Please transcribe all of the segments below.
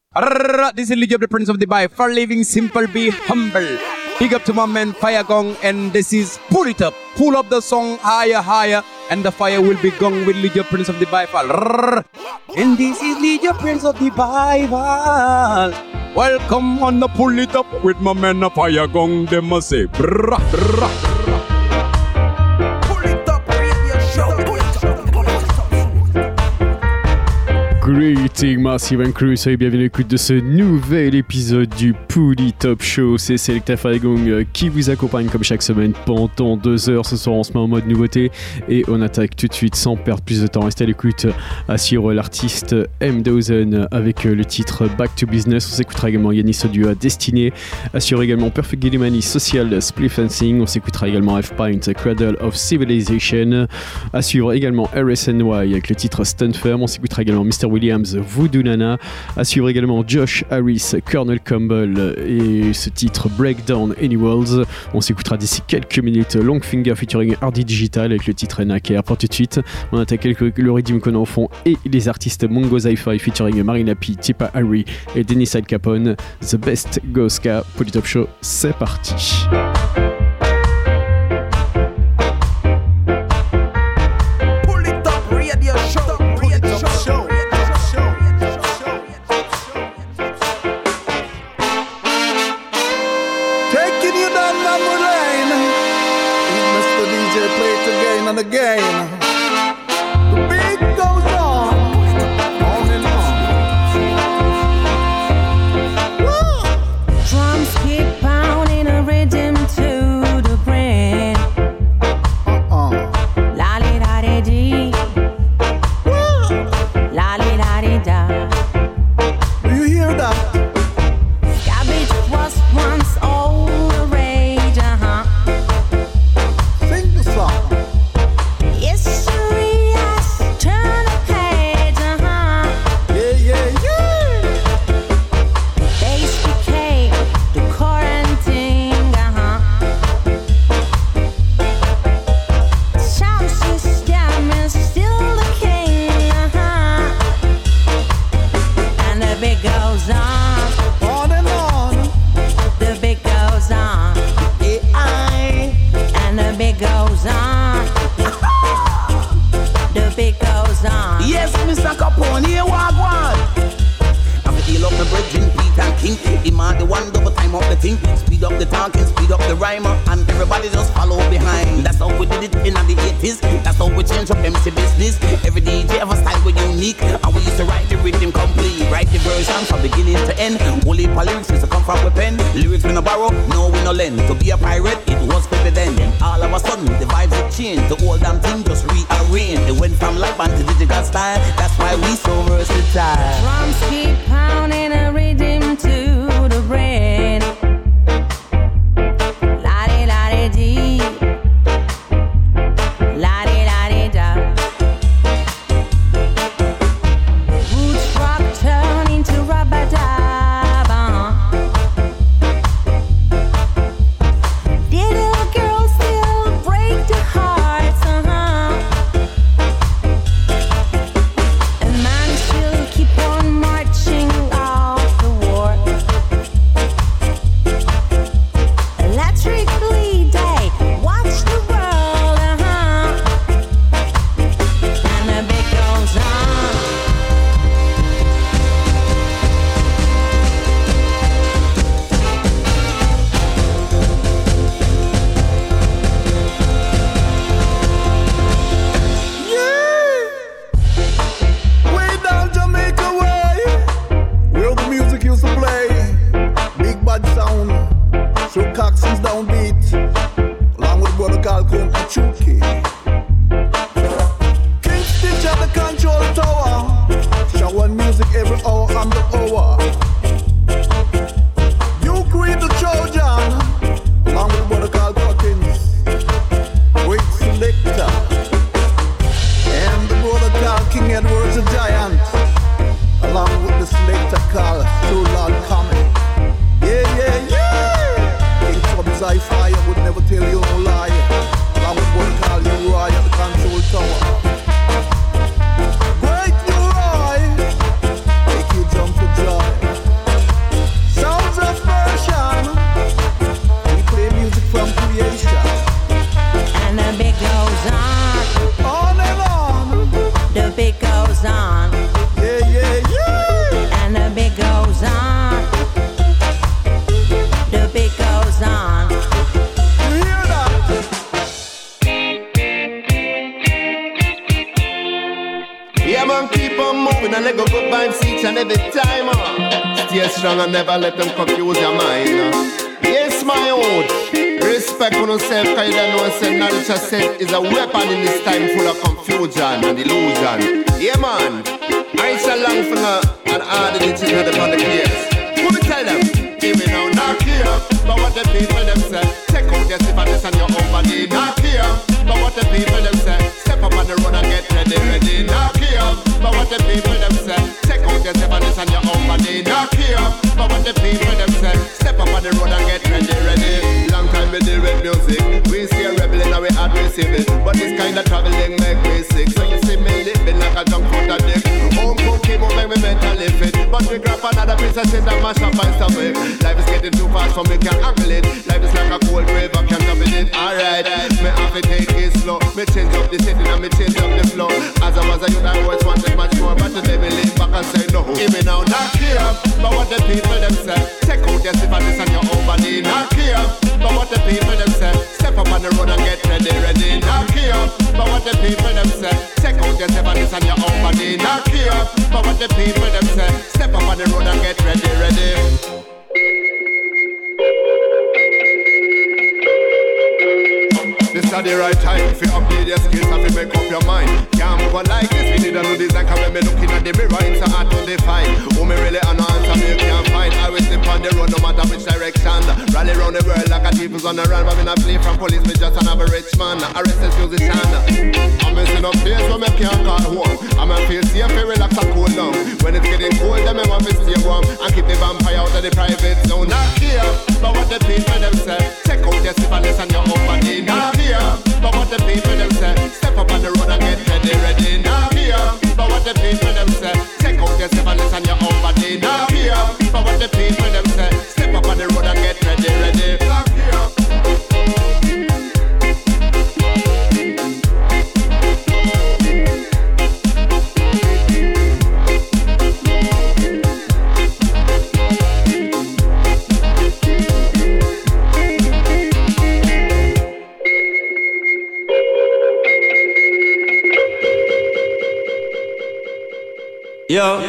This is Lijab, the Prince of Dubai. For living simple, be humble. Big up to my man Fire Gong, and this is Pull It Up. Pull up the song higher, higher, and the fire will be gone with Lijab, Prince of Dubai. And this is Lijab, Prince of Dubai. Welcome on the Pull It Up with my man Fire Gong. They must say, brah, brah. Greeting Massive and Crew, soyez bienvenue à l'écoute de ce nouvel épisode du Pull It Up Show. C'est Selecta Fagong qui vous accompagne comme chaque semaine pendant 2 heures. Ce soir on se met en mode nouveauté et on attaque tout de suite sans perdre plus de temps. Restez à l'écoute sur l'artiste M-Dozen avec le titre Back to Business. On s'écoutera également Yanis Audio à Destiné, assure également Perfect Gillimani Social Split Fencing. On s'écoutera également F-Pint Cradle of Civilization, à suivre également RSNY avec le titre Stun Firm. On s'écoutera également Mr. Williams, Voodoo Nana, à suivre également Josh Harris, Colonel Campbell et ce titre Breakdown Any Worlds. On s'écoutera d'ici quelques minutes Longfinger featuring Hardy Digital avec le titre Naker. Pour tout de suite, on attaque le rythme qu'on a au fond et les artistes Mongo Zi-Fi featuring Marina P, Tipa Harry et Dennis Al Capone. The Best Goska, Pull It Up Show, c'est parti. Again, the beat goes on and on. Woo! Drums keep pounding a rhythm to the brain. La li da di di, la li da di da. Do you hear that? Cabbage was once all the rage, Sing the song. History has turned a page, Yeah, yeah, yeah. Base became the quarantine, Sound system is still the king, And the beat goes on. On and on. The beat goes on. AI. And the beat goes on. The beat goes on. Yes, Mr. Capone, here walk one. I feel up the bridging, Pete and King. Him and the one double time up the thing. Speed up the talking, speed up the rhymer, and everybody just follow behind. That's how we did it in the 80s. That's how we change up MC business. Every DJ have a style we unique, and we used to write the rhythm complete. Write the version from beginning to end. Only for lyrics used to come from a pen. Lyrics we no borrow, no we no lend. To be a pirate, it was baby then. All of a sudden, the vibes had changed. The old damn thing just rearranged. It went from live band to digital style. That's why we so versatile. Drums keep pounding a rhythm to the brain. La di la di di, la di la di da. Roots rock turn into rubber-dub. Did little girls still break the hearts? And man still keep on marching. hoping I let go good vibes each and every time. Stay strong and never let them confuse your mind. Yes, my own. Respect for yourself, cause you don't know say knowledge yourself is a weapon in this time full of confusion and illusion. Yeah, man. I shall long for her and all the ditches of the public years. Who me tell them? Give me now, knock here. But what the people them say? Take out your syphilis and your own body, knock here. But what the people them say? Step up on the road and get ready, knock here. But what the people them say? Take out your syphilis and your own body, knock here. But what the people them say? Step up on the road and get ready. Long time we deal with music. We see a rebel and we hard receive it. But this kind of traveling make me sick. So you see me living like a junk out of dick. Home cookie move make me mentally fit. But we grab another piece of shit and mash up and stop it. Life is getting too fast so me can't handle it. Life is like a cold grave, I can't stop it. Alright, me have to take it slow. Me change up the setting and me change up the flow. As I was a youth I always wanted much more. But today me lean back and say no. Give me now, knock here. But what the people them say? Take out your syphilis and your own body, knock here. But what the people them say? Step up on the road and get ready, knock here. But what the people them say? Take out your syphilis and your own body, knock here. But what the people them say? Step up on the road and get ready. This is the right time. If you upgrade your skills, if you make up your mind. Can't move on like this. We need a new design. Cause when me looking at the mirror, it's so hard to define. Who me really an answer me can't find. I will slip on the road no matter which direction. Rally around the world like a thief who's on the run. But me not flee from police, me just an average man. A restless musician. I'm missing up place where me can't call home. I'm a feel safe, feel relax and cool down. When it's getting cold, then me want to stay warm. And keep the vampire out of the private zone. Not here, but what the people them say. Check out your syphilis and your own body. Not here, but what the people them say. Step up on the road and get ready. Not here, but what the people them say. Check out your syphilis and your own body. Not here, but what the people them say. Step up on the road and get ready. Not here. Yo,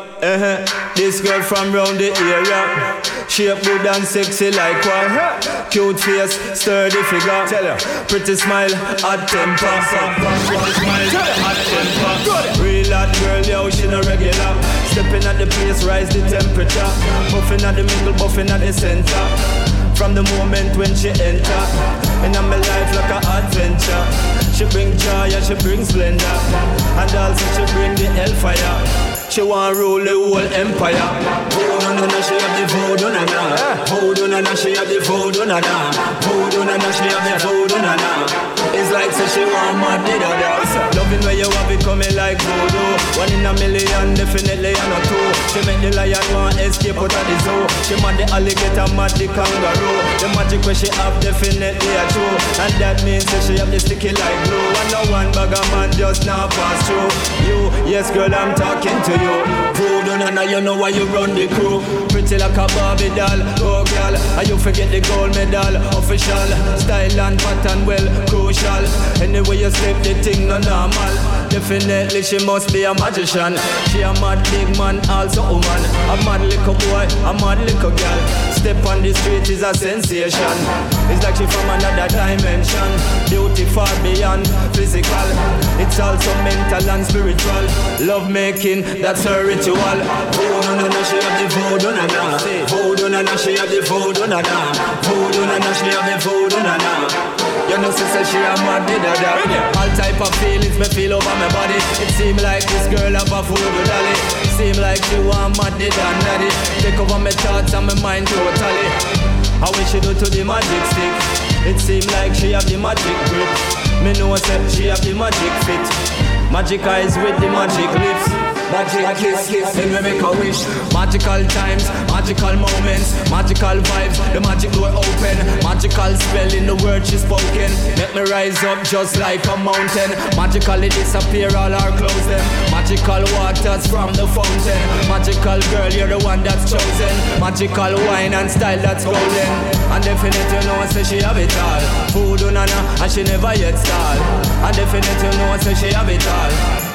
this girl from round the area, shape good and sexy like one. Cute face, sturdy figure. Tell her, pretty smile, hot temper. Pretty smile, hot temper. Real hot girl, yo, she no regular. Stepping at the place, rise the temperature. Buffing at the middle, buffing at the center. From the moment when she enter, in my life like an adventure. She bring joy and she bring splendor, and also she bring the hellfire. She want rule the whole empire. Voodoo na na, she have the voodoo na na. Voodoo na na, she have the voodoo na na. Voodoo na na, she have the voodoo na na. It's like say she want mad da da. Loving where you have it coming like voodoo. 1 in a million, definitely and a two. She make the lion want escape out of the zoo. She mad the alligator, mad the kangaroo. The magic where she have definitely a true. And that means that she have the sticky like glue. And no one bag a man just now pass through. You, yes girl, I'm talking to you. Voodoo na na, you know why you run the crew. Pretty like a Barbie doll, oh girl. And you forget the gold medal, official. Style and pattern, well, crucial. Anyway you step the thing no normal. Definitely she must be a magician. She a mad big man, also woman. A mad little boy, a mad little girl. Step on the street is a sensation. It's like she from another dimension. Beauty far beyond physical. It's also mental and spiritual. Love making, that's her ritual. Voodoo na na, she have the voodoo na na. Voodoo na na, she have the voodoo na na. Voodoo na na, she have the voodoo na na. You know, sister, she a mad da. All type of feelings me feel over my body. It seem like this girl have a voodoo dolly. Seem like she want mad da daddy. Take over my thoughts and my mind totally. How we she do to the magic stick? It seem like she have the magic grip. Me know say she have the magic fit. Magic eyes with the magic lips. Magic kiss, then we make a wish. Magical times, magical moments, magical vibes, the magic door open. Magical spell in the word she's spoken. Make me rise up just like a mountain. Magically disappear all our clothes then. Magical waters from the fountain. Magical girl, you're the one that's chosen. Magical wine and style that's golden. And definitely you know say she have it all. Voodoo na na, and she never yet stall. And definitely you know say she have it all.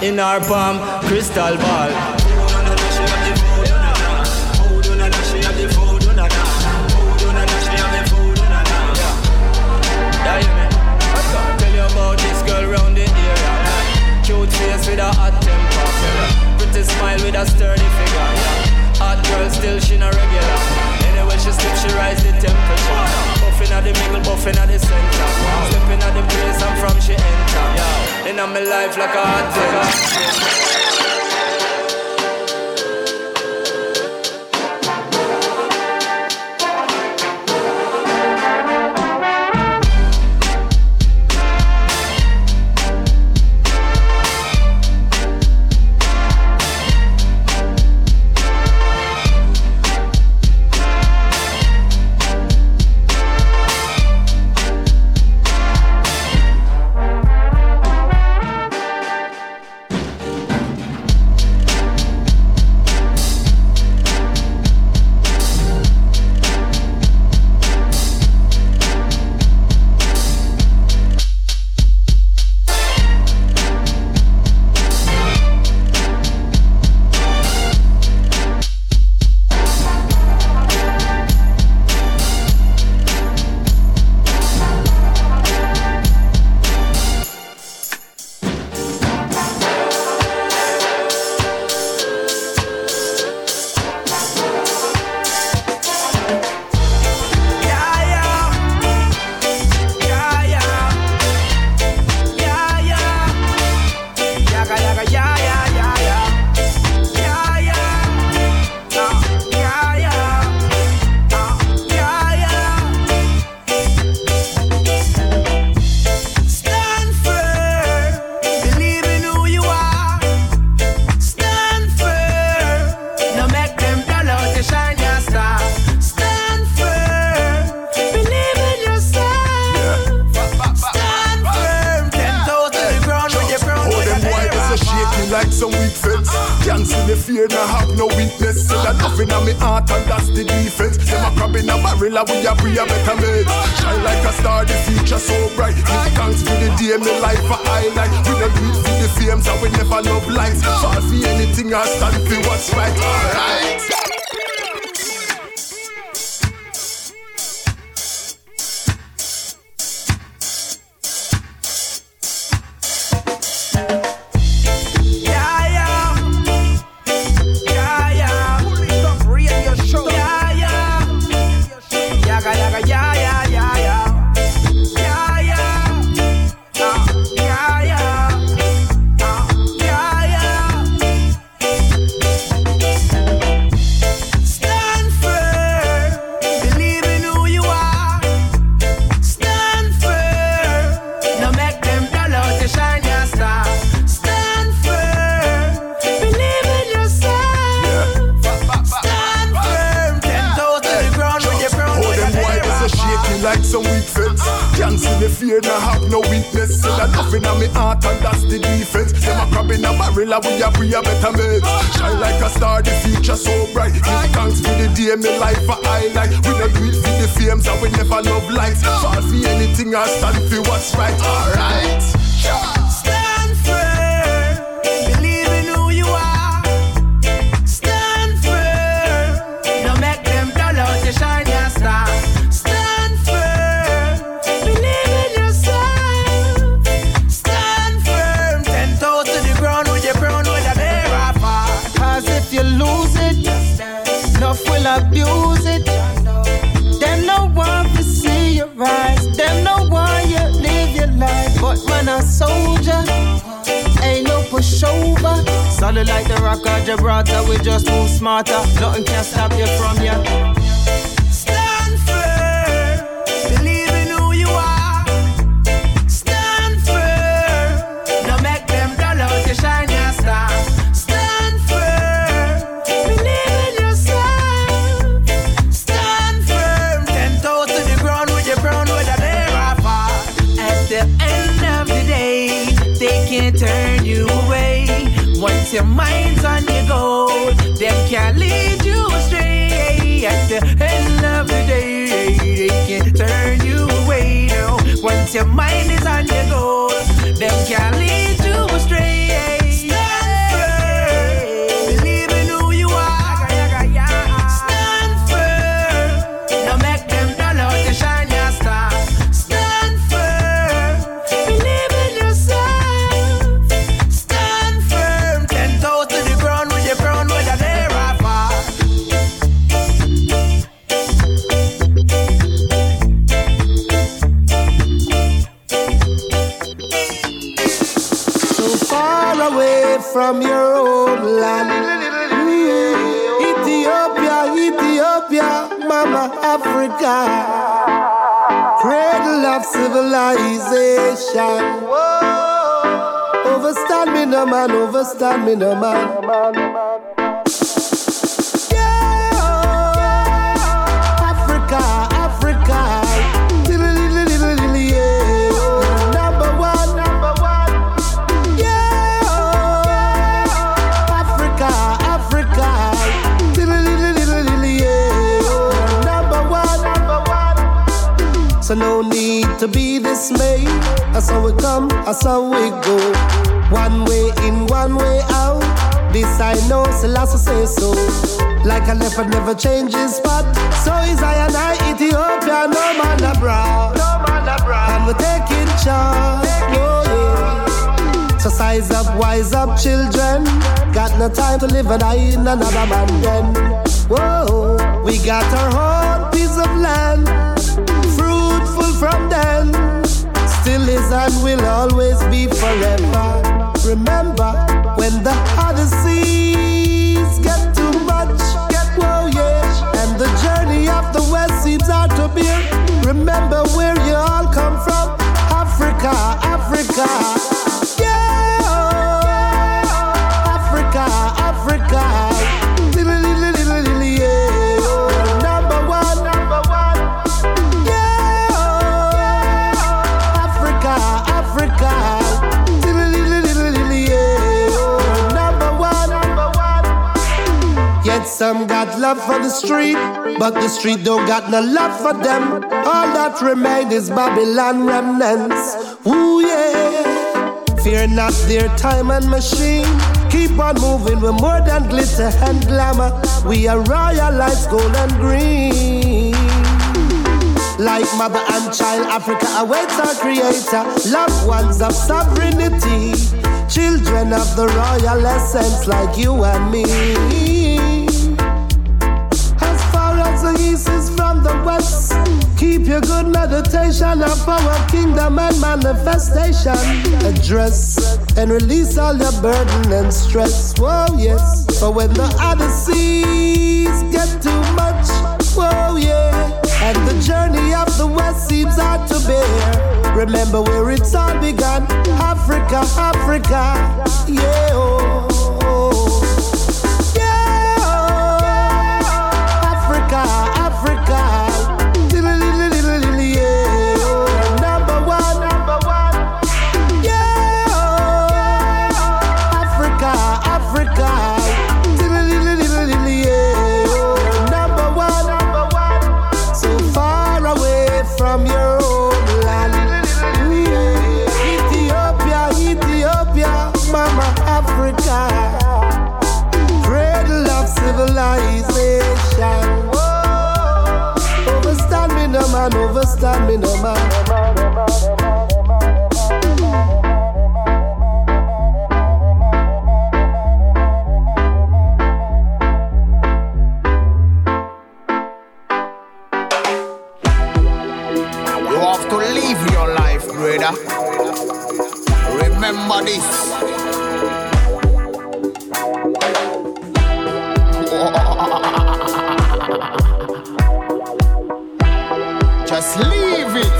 in our palm, crystal ball. Tell you about this girl round the area. Cute face with a hot temper. Pretty smile with a sturdy figure. Hot girl still she not regular. Anyway she slip she rise the temperature. Buffing at the middle, buffing at the center. Stepping at the place and from she enter. In my life like a hot temper. Solid like the rock of Gibraltar, we just move smarter. Nothing can stop you from ya. Stand firm, believe in who you are. Stand firm, no make them dull out to shine your star. Stand firm, believe in yourself. Stand firm, 10 toes to the ground with your brown with a bear far. At the end of the day, they can't turn you away. Once your mind's on your goal, them can't lead you astray. At the end of the day, they can't turn you away. No. Once your mind is on your goal, them can't lead you astray. from your homeland. Ethiopia, Ethiopia, Mama Africa, cradle of civilization. Overstand me no man, overstand me no man. So no need to be dismayed. That's how we come, that's how we go. One way in, one way out. This I know, Selassie say so. Like a leopard never changes spot. So is I and I, Ethiopia, no man abroad. And we're taking charge. Oh, yeah. So size up, wise up, children. Got no time to live and die in another man den. Whoa, we got our own piece of land. From then, still is and will always be forever. Remember, when the other seas get too much, whoa yeah, and the journey of the west seems hard to bear. Remember where you all come from, Africa, Africa, yeah, Africa, Africa. Some got love for the street, but the street don't got no love for them. All that remain is Babylon remnants. Ooh yeah. Fear not their time and machine. Keep on moving, we're more than glitter and glamour. We are royal lights, gold and green. Like mother and child, Africa awaits our creator. Loved ones of sovereignty, children of the royal essence like you and me. The east is from the west. Keep your good meditation of our kingdom and manifestation. Address and release all your burden and stress. Whoa, yes. For when the other seas get too much, whoa, yeah. And the journey of the west seems hard to bear. Remember where it's all begun. Africa, Africa, yeah, oh, oh. Africa, yeah, number one, yeah, Africa, Africa, yeah, number one, so far away from your homeland, Ethiopia, Ethiopia, Mama Africa, cradle of civilization. Overstand me no man, overstand me no man. You have to live your life, brother. Remember this. Just leave it.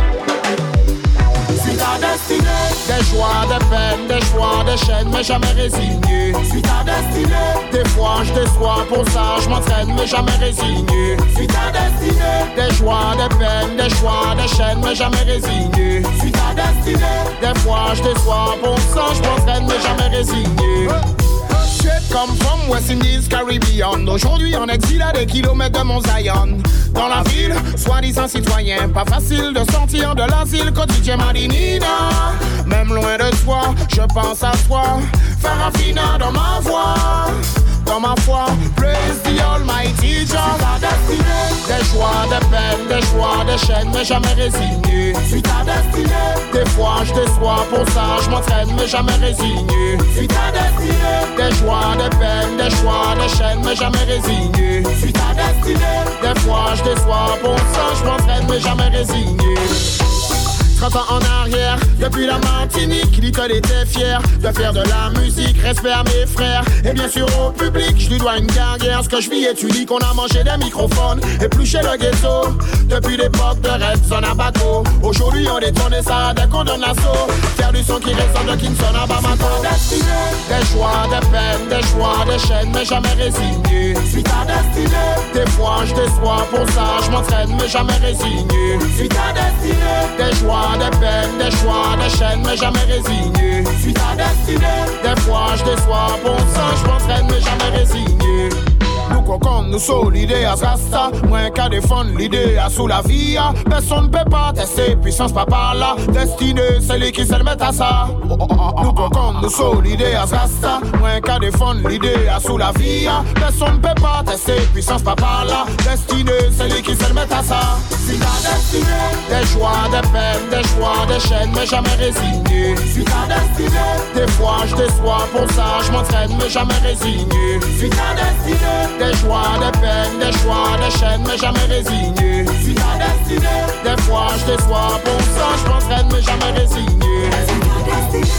Suis ta destinée. Des joies, des peines, des choix, des chaînes, mais jamais résigné. Suis ta destinée. Des fois je déçois, pour ça je m'entraîne, mais jamais résigné. Suis ta destinée. Des joies, des peines, des choix, des chaînes, mais jamais résigné. Suis ta destinée. Des fois je déçois, pour ça je m'entraîne, mais jamais résigné. Come from West Indies, Caribbean. Aujourd'hui en exil à des kilomètres de mon Zion. Dans la ville, soi-disant citoyen. Pas facile de sortir de l'asile quotidien Madinina. Même loin de toi, je pense à toi. Farafina dans ma voix. Dans ma foi, praise the Almighty Jah. Ta destinée. Des choix, des peines, des choix, des chaînes, mais jamais résigné. Suis ta destinée. Des fois je déçois, pour ça je m'entraîne, mais jamais résigné. Suis ta destinée. Des joies, des peines, des choix, des chaînes, mais jamais résigné. Suis ta destinée. Des fois je déçois, pour ça je m'entraîne, mais jamais résigné. 30 ans en arrière, depuis la Martinique, Little était fier de faire de la musique. Respect à mes frères et bien sûr au public. Je lui dois une carrière, ce que je vis est unique. On a mangé des microphones et plus chez le ghetto. Depuis l'époque de Red Son à Baco, aujourd'hui on détourne ça dès qu'on donne l'assaut. Faire du son qui ressemble à Kingston à Bamako. Des choix, des peines, des choix, des chaînes, mais jamais résigné. Suis ta destinée. Des fois je déçois, pour ça je m'entraîne, mais jamais résigné. Suis ta destinée. Des choix, des peines, des choix, des chaînes, mais jamais résigné. Suis ta destinée. Des fois je déçois, pour ça je m'entraîne, mais jamais résigné. Nous cocons, nous sommes l'idée à Rasta. Moins qu'à défendre l'idée à sous la vie. Personne ne peut pas tester puissance pas par là. Destinée, c'est lui qui se le met à ça. Nous cocons, nous sommes l'idée à Rasta. Moins qu'à défendre l'idée à sous la vie. Personne ne peut pas tester puissance pas par là. Destinée, c'est lui qui se le met à ça. Suis ta destinée. Des choix, des peines, des choix, des chaînes, mais jamais résigné. Suis ta destinée. Des fois je déçois, pour ça je m'entraîne, mais jamais résigné. Suis ta destinée. Des choix, des peines, des choix, des chaînes, mais jamais résigné. Suis ta destinée. Des fois je déçois, pour ça je m'entraîne, mais jamais résigné. Suis ta destinée.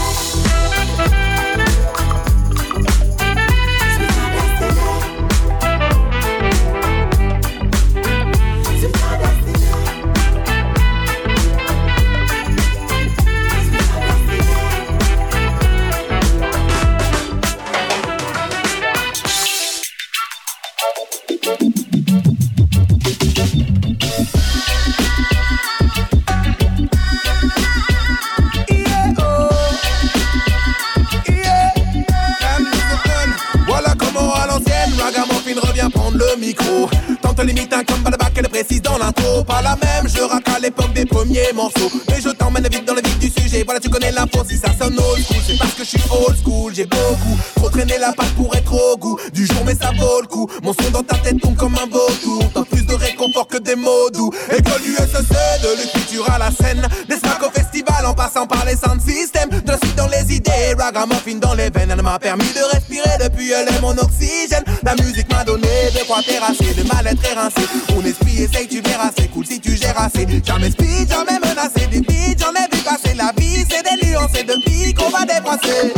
Micro, tente limite un comme Balabac, elle précise dans l'intro. Pas la même, je rappe à l'époque des premiers morceaux. Mais je t'emmène vite dans le vif du sujet. Voilà, tu connais l'info, si ça sonne old school, c'est parce que je suis old school. J'ai beaucoup trop traîné la patte pour être au goût du jour, mais ça vaut le coup. Mon son dans ta tête tombe comme un vautour. T'as plus de réconfort que des mots doux. École USEC, de l'écriture à la scène. Des smacks au festival en passant par les sound systems. De la suite dans les idées, ragamuffin dans les veines. Elle m'a permis de respirer, depuis elle est mon oxygène. La musique m'a donné de quoi terrasser, de mal-être érincé. Mon esprit essaye, tu verras, c'est cool si tu gères assez. Jamais speed, jamais menacé, des beats, j'en ai vu passer. La vie, c'est des nuances et de piques qu'on va débrasser.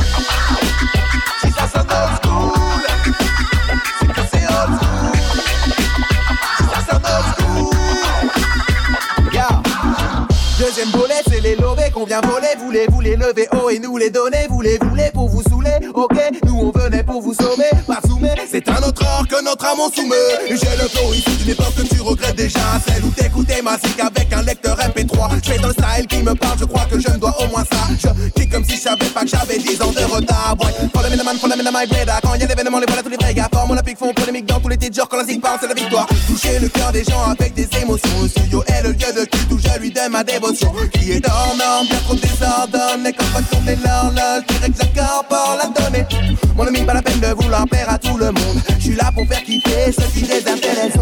Si ça sonne old school, c'est que c'est old school. Si ça sonne old school, yeah. Deuxième volet, c'est les lovés qu'on vient voler. Vous les lever haut et nous les donner. Vous les pour vous saouler, ok. Nous on venait pour vous sauver, pas soumet. C'est un autre or que notre âme on soumet. J'ai le flow issu d'une époque que tu regrettes déjà. Celle où t'écoutais ma zik avec un lecteur MP3. Je fais dans le style qui me parle, je crois que je me dois au moins ça. Je kick comme si je savais pas que j'avais 10 ans de retard. Boy, follow me the man, follow me the my brother. Quand y'a l'événement, les voilà tous les vrais gars. Forme olympique font polémique dans tous les titres. Genre quand la zik parle, c'est la victoire. Toucher le cœur des gens avec des émotions. Le studio est le lieu de culte où je lui donne ma dévotion. Qui est dormant, bien trop désordonne. Et quand va tourner l'horloge, je dirais que j'incorpore la donnée. Mon ami, pas la peine de vouloir plaire à tout le monde. Je suis là pour faire kiffer ceux qui désintéressent.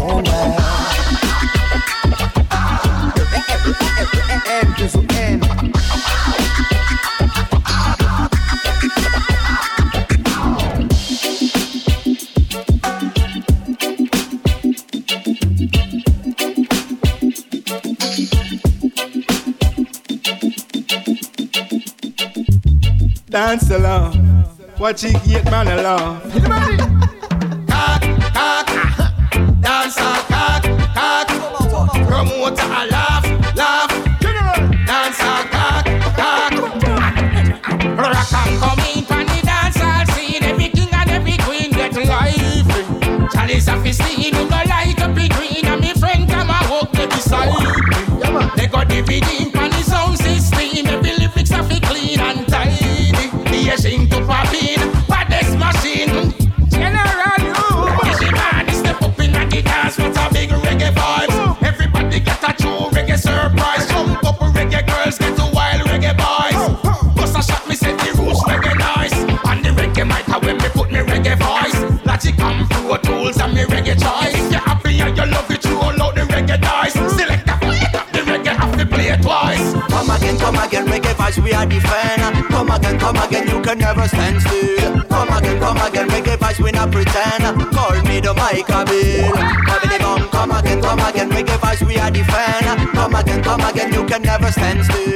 Dance along, watch it get man along. Cock, cock, dance a cock, cock. Promoter a laugh, laugh. Dance a cock, cock. Rock and come in on the dance hall scene. Every king and every queen get lively. Chalice of his scene, who no light up the green. And me friend come and walk the beside me. They got DVD on the sound system. Every lyrics of it clean and tidy. Sing to pop in, but this machine General you. Is the man is step up in the dance with a big reggae vibes. Everybody get a true reggae surprise. Some couple reggae girls get a wild reggae boys. Bust a shot, me said the roots reggae nice. And the reggae mic when me put me reggae voice. Logic come through tools and me reggae choice. If you're happy and you love it, you all out the reggae dice. Select the reggae have to play it twice. Come again, reggae vibes we are the fan. Come again, you can never stand still. Come again, reggae vibes we not pretend. Call me the Micah Bill. Come again, reggae vibes we are the fan. Come again, you can never stand still.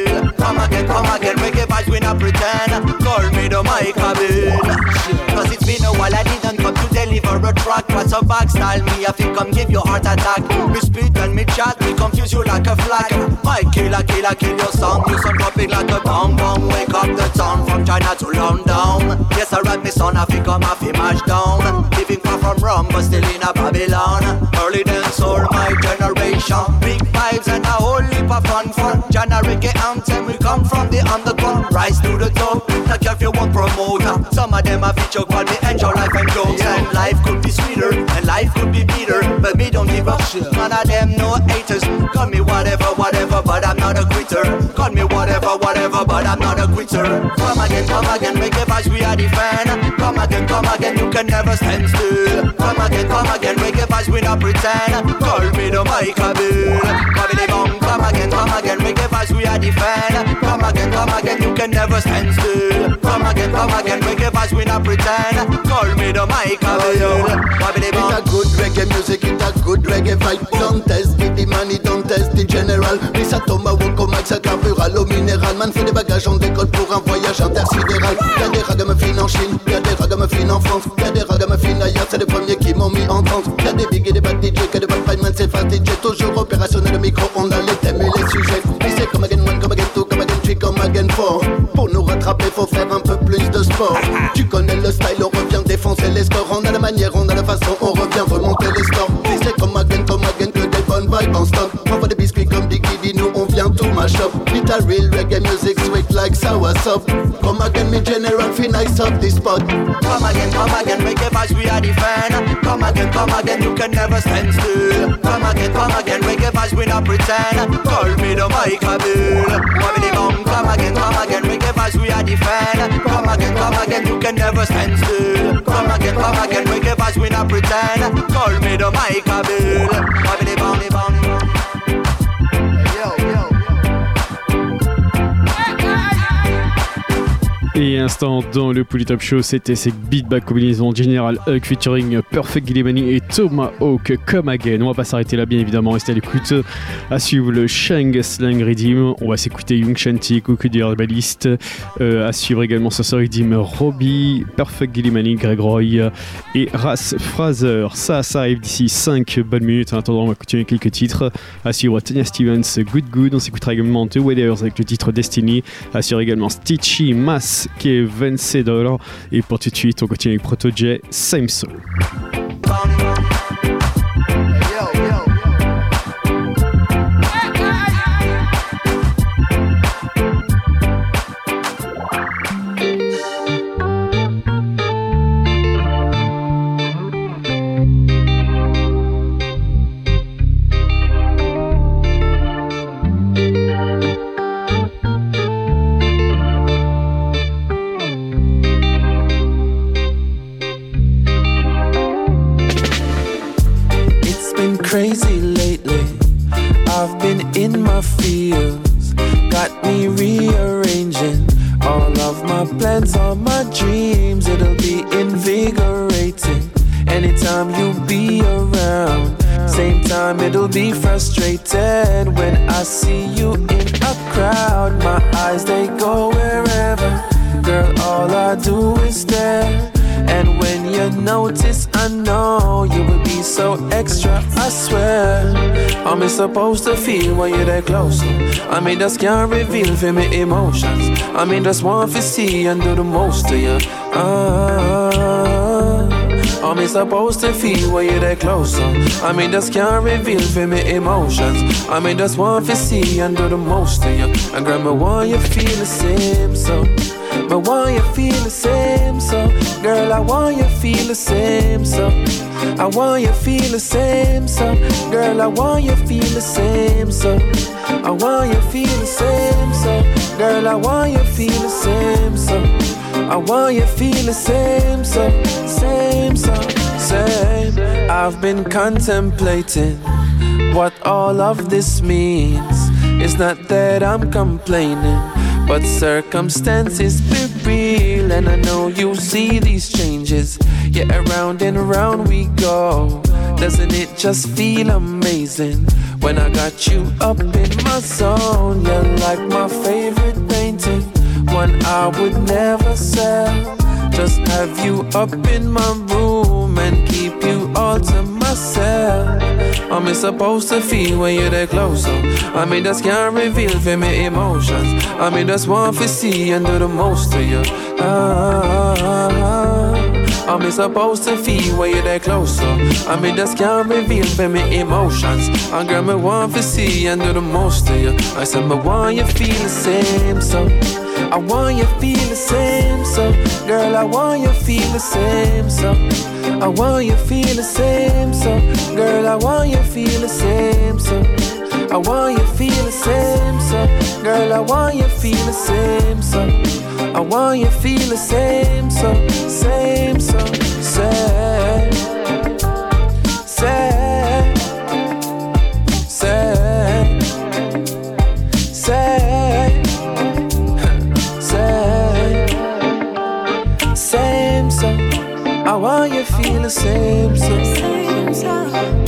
Come again, reggae vibes we not pretend. Call me the mic a bill. Cause it's been a while I didn't come to deliver a track. What's a back style me, I think come give you heart attack. Me spit and me chat, me confuse you like a flag. My killer, kill your song. You some dropping like a bomb. Wake up the town from China to London. Yes, I rap me son, I think I'm a mash down. Living far from Rome, but still in a Babylon. Early dance all my generation. Big vibes and a whole heap of fun. Generic anthem, we come from the underground. Rise to the top, not care if you want promoter. Some of them have feature called me enjoy life and jokes. And life could be sweeter, and life could be better. But me don't give up, none of them no haters. Call me whatever, but I'm not a quitter. Call me whatever, but I'm not a quitter. Come again, make a vibes we are the fan. Come again, you can never stand still. Come again, make a vibes we not pretend. Call me the mic a bill. Come again, make a vibes we are the fan. Come again, you can never stand still. Come again, make a vibes we not pretend. Call me the mic a bill. It's a good reggae music, it's a good reggae vibe. Don't test the money, don't test the general. Mais ça tombe à Woko Max, ça carburale au minéral. Man fait des bagages en décolle pour un voyage intersidéral. Y'a des ragamuffins en Chine, y'a des ragamuffins en France, y'a des ragamuffins ailleurs, c'est les premiers qui m'ont mis en transe. Y'a des big et des bad DJ, que des bad fight man, c'est fast DJ. Toujours opérationnel, le micro, on a les thèmes et les sujets. Puis c'est come again one, come again two, come again three, come again four. Pour nous rattraper, faut faire un peu plus de sport. Tu connais le style, on revient défoncer les scores. On a la manière, on a la façon, on revient remonter les scores. Puis c'est come again, que des bonnes vibes en stock. Envoie des biscuits comme Diggy, nous on vient tout mash up. It's a real reggae music, sweet like sour soup. Come again, me general, feel nice up this spot. Come again, make a vibes we are the fan. Come again, you can never stand still. Come again, make a vibes we not pretend. Call me the mic a bill. Come again, make a vibes we are the fan. Come again, you can never stand still. Come again, make a vibes we not pretend. Call me the mic a bill. Et instant dans le Polytop Show, c'était ces beatback combinaison General Hug featuring Perfect Gillimani et Tomahawk Come Again. On va pas s'arrêter là, bien évidemment, restez à l'écoute. À suivre le Shang Slang Redeem, on va s'écouter Young Shanty, Coco the Herbalist. À suivre également Saucer Redeem, Robbie, Perfect Gillimani, Greg Roy et Ras Fraser. Ça arrive d'ici 5 bonnes minutes. En attendant, on va continuer quelques titres. À suivre Tanya Stevens, Good. On s'écoutera également The Weathers avec le titre Destiny. À suivre également Stitchy Mass qui est $20. Et pour tout de suite, on continue avec Proto J, Same Soul. Crazy lately, I've been in my feels, got me rearranging all of my plans, all my dreams. It'll be invigorating anytime you be around. Same time it'll be frustrating when I see you in a crowd. My eyes, they go wherever, girl, all I do is stare. And when you notice, I know you will be so extra, I swear. I'm supposed to feel when you're that close. I mean, just can't reveal for me emotions. I mean, just want to see and do the most to you. I'm supposed to feel when you're that close. I mean, just can't reveal for me emotions. I mean, just want to see and do the most to you. And girl, I want you feel the same, so. But why you feel the same, so girl, I want you feel the same, so I want you feel the same, so girl, I want you feel the same, so I want you feel the same, so girl, I want you feel the same, so I want you feel the same, so same. I've been contemplating what all of this means. It's not that I'm complaining, but circumstances be real, and I know you see these changes. Yeah, around and around we go. doesn't it just feel amazing when I got you up in my zone? You're like my favorite painting, one I would never sell. Just have you up in my room and keep you all to myself. I'm supposed to feel when you're that close, I mean, just can't reveal for me emotions. I mean, just want to see and do the most to you. I'm supposed to feel when you're that close, I mean, just can't reveal for me emotions. And girl, me want to see and do the most to you. I said, me want you feel the same, so I want you feel the same, so girl, I want you feel the same, so I want you feel the same, so girl, I want you feel the same, so I want you feel the same, so girl, I want you feel the same, so I want you feel the same, so same, so say, say, say, say, say, same, so I want you feel the same, so same, so.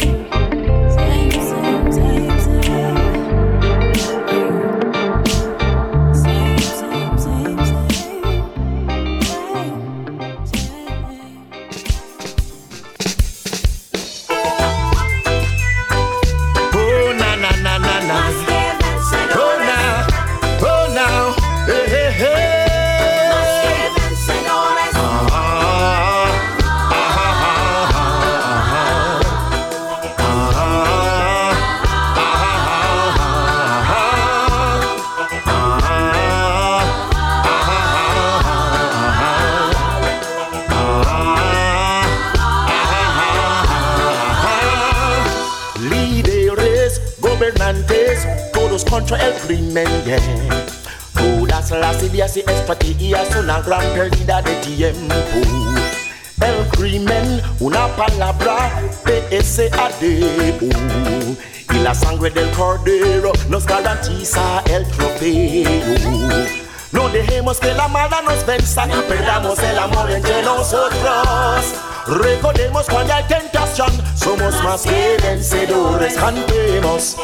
Contra el crimen, yeah. Todas las ideas y estrategias son la gran pérdida de tiempo. El crimen, una palabra, PSADO. Y la sangre del cordero nos garantiza el trofeo. No dejemos que la maldad nos venza y perdamos el amor entre nosotros. Recordemos cuando hay tentación, somos más que vencedores. Cantemos.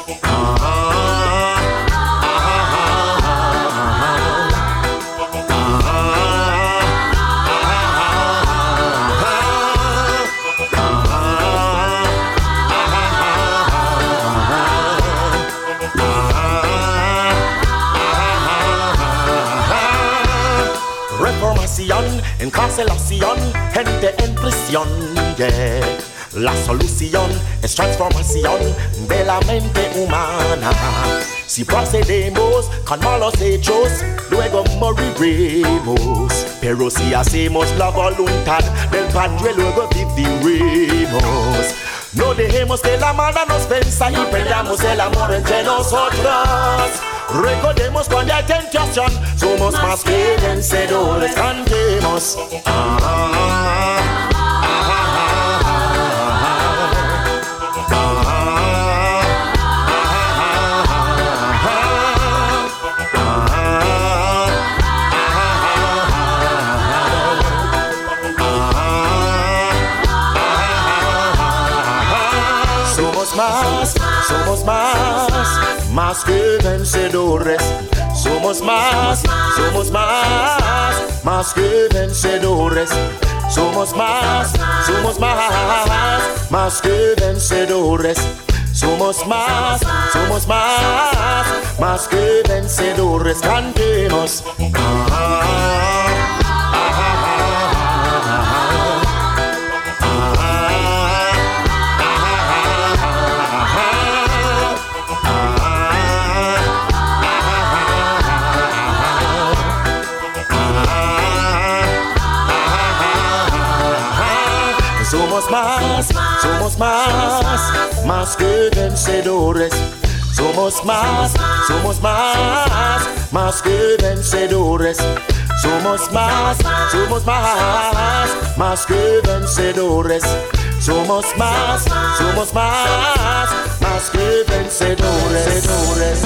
Encarcelación, gente en prisión, yeah. La solución es transformación de la mente humana. Si procedemos con malos hechos, luego moriremos. Pero si hacemos la voluntad del Padre, luego viviremos. No dejemos que la maldad nos venza y perdamos el amor entre nosotros. Recordemos cuando hay tentación, somos más que vencedores. Cantemos. Somos más que vencedores. Somos más que vencedores. Somos más que vencedores. Somos más que vencedores. Cantemos. Somos más que vencedores. Somos más que vencedores. Somos más que vencedores. Somos más que vencedores.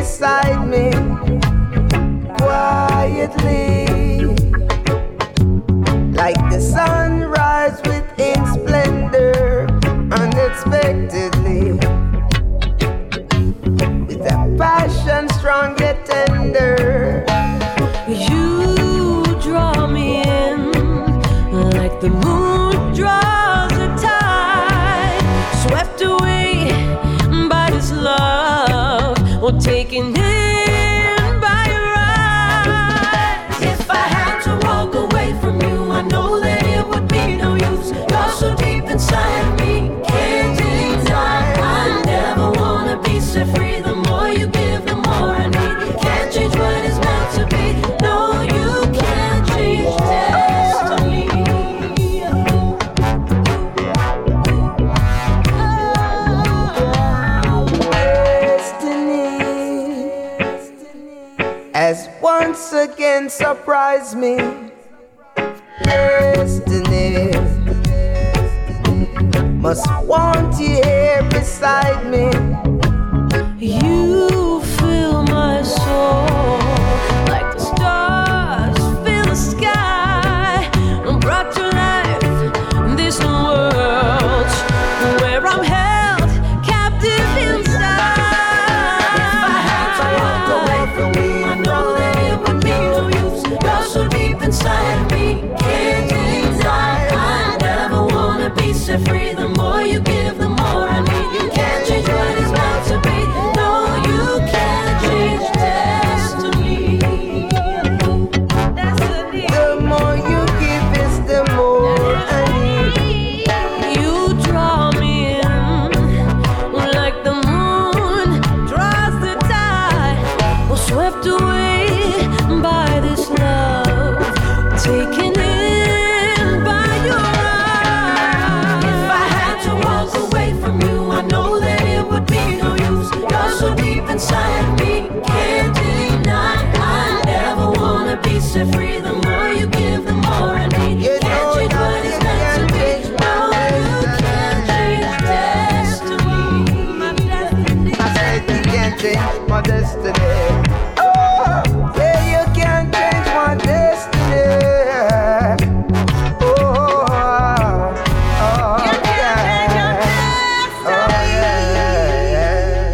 beside me quietly, like the sunrise within splendor, unexpectedly, with a passion strong yet tender. You draw me in like the moon draws a tide, swept away by this love, or taken in by your eyes. If I had to walk away from you, I know that it would be no use. You're so deep inside me, can't deny. I never wanna be set free. The more you give, the more I need. Can't change what is meant to be. No, you can't change destiny. Has once again surprised me. Destiny must want you here beside me. You fill my soul like the stars fill the sky, and brought to life this world where I'm held captive inside. If I had to walk away from me, I know that it would be no use. You're so deep inside me, can't deny. I never wanna be set free. The more you give, the more I need. You can't change what is meant to be. No, you can't change destiny. The more you give is the more I need. You draw me in like the moon draws the tide, or swept away by this love, taken in by your eyes. If I had to walk away from you, I know that it would be no use. You're so deep inside me, can't deny. I never wanna be set free. The more you give, the more I need. You can't change what is meant to be. No, you can't change destiny. I said you can't change my destiny. Oh, yeah, you can't change my destiny. Oh, oh, yeah. Oh, yeah.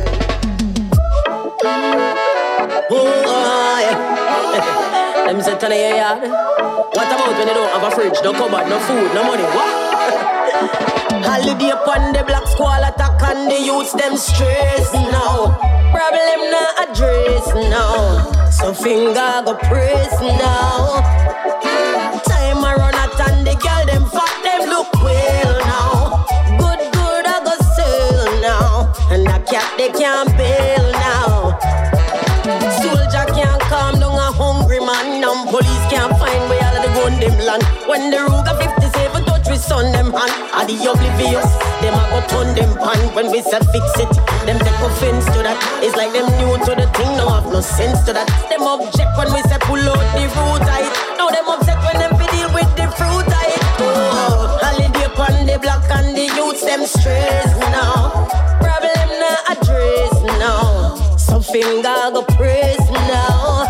Oh, yeah. Let me say, Tony, yeah. What about when you don't have a fridge, no cupboard, no food, no money? What? Holiday upon the black squall attack and the youths them stress now. Problem not address now. So finger go press now. Time I run out and the girl them fat them look well now. Good I go sell now. And the cat they can't bail now. Soldier can't calm down a hungry man. And police can't find where all of the gun them land. When the Ruger 57 touch with son them hand, are the oblivious, them a go turn them pan. When we say fix it, them take offense to that. It's like them new to the thing, no have no sense to that. Them object when we say pull out the root height. Now them upset when them fi deal with the fruit height. Oh, holiday upon the block and the youths them stress now. Problem not address now. So finger go press now.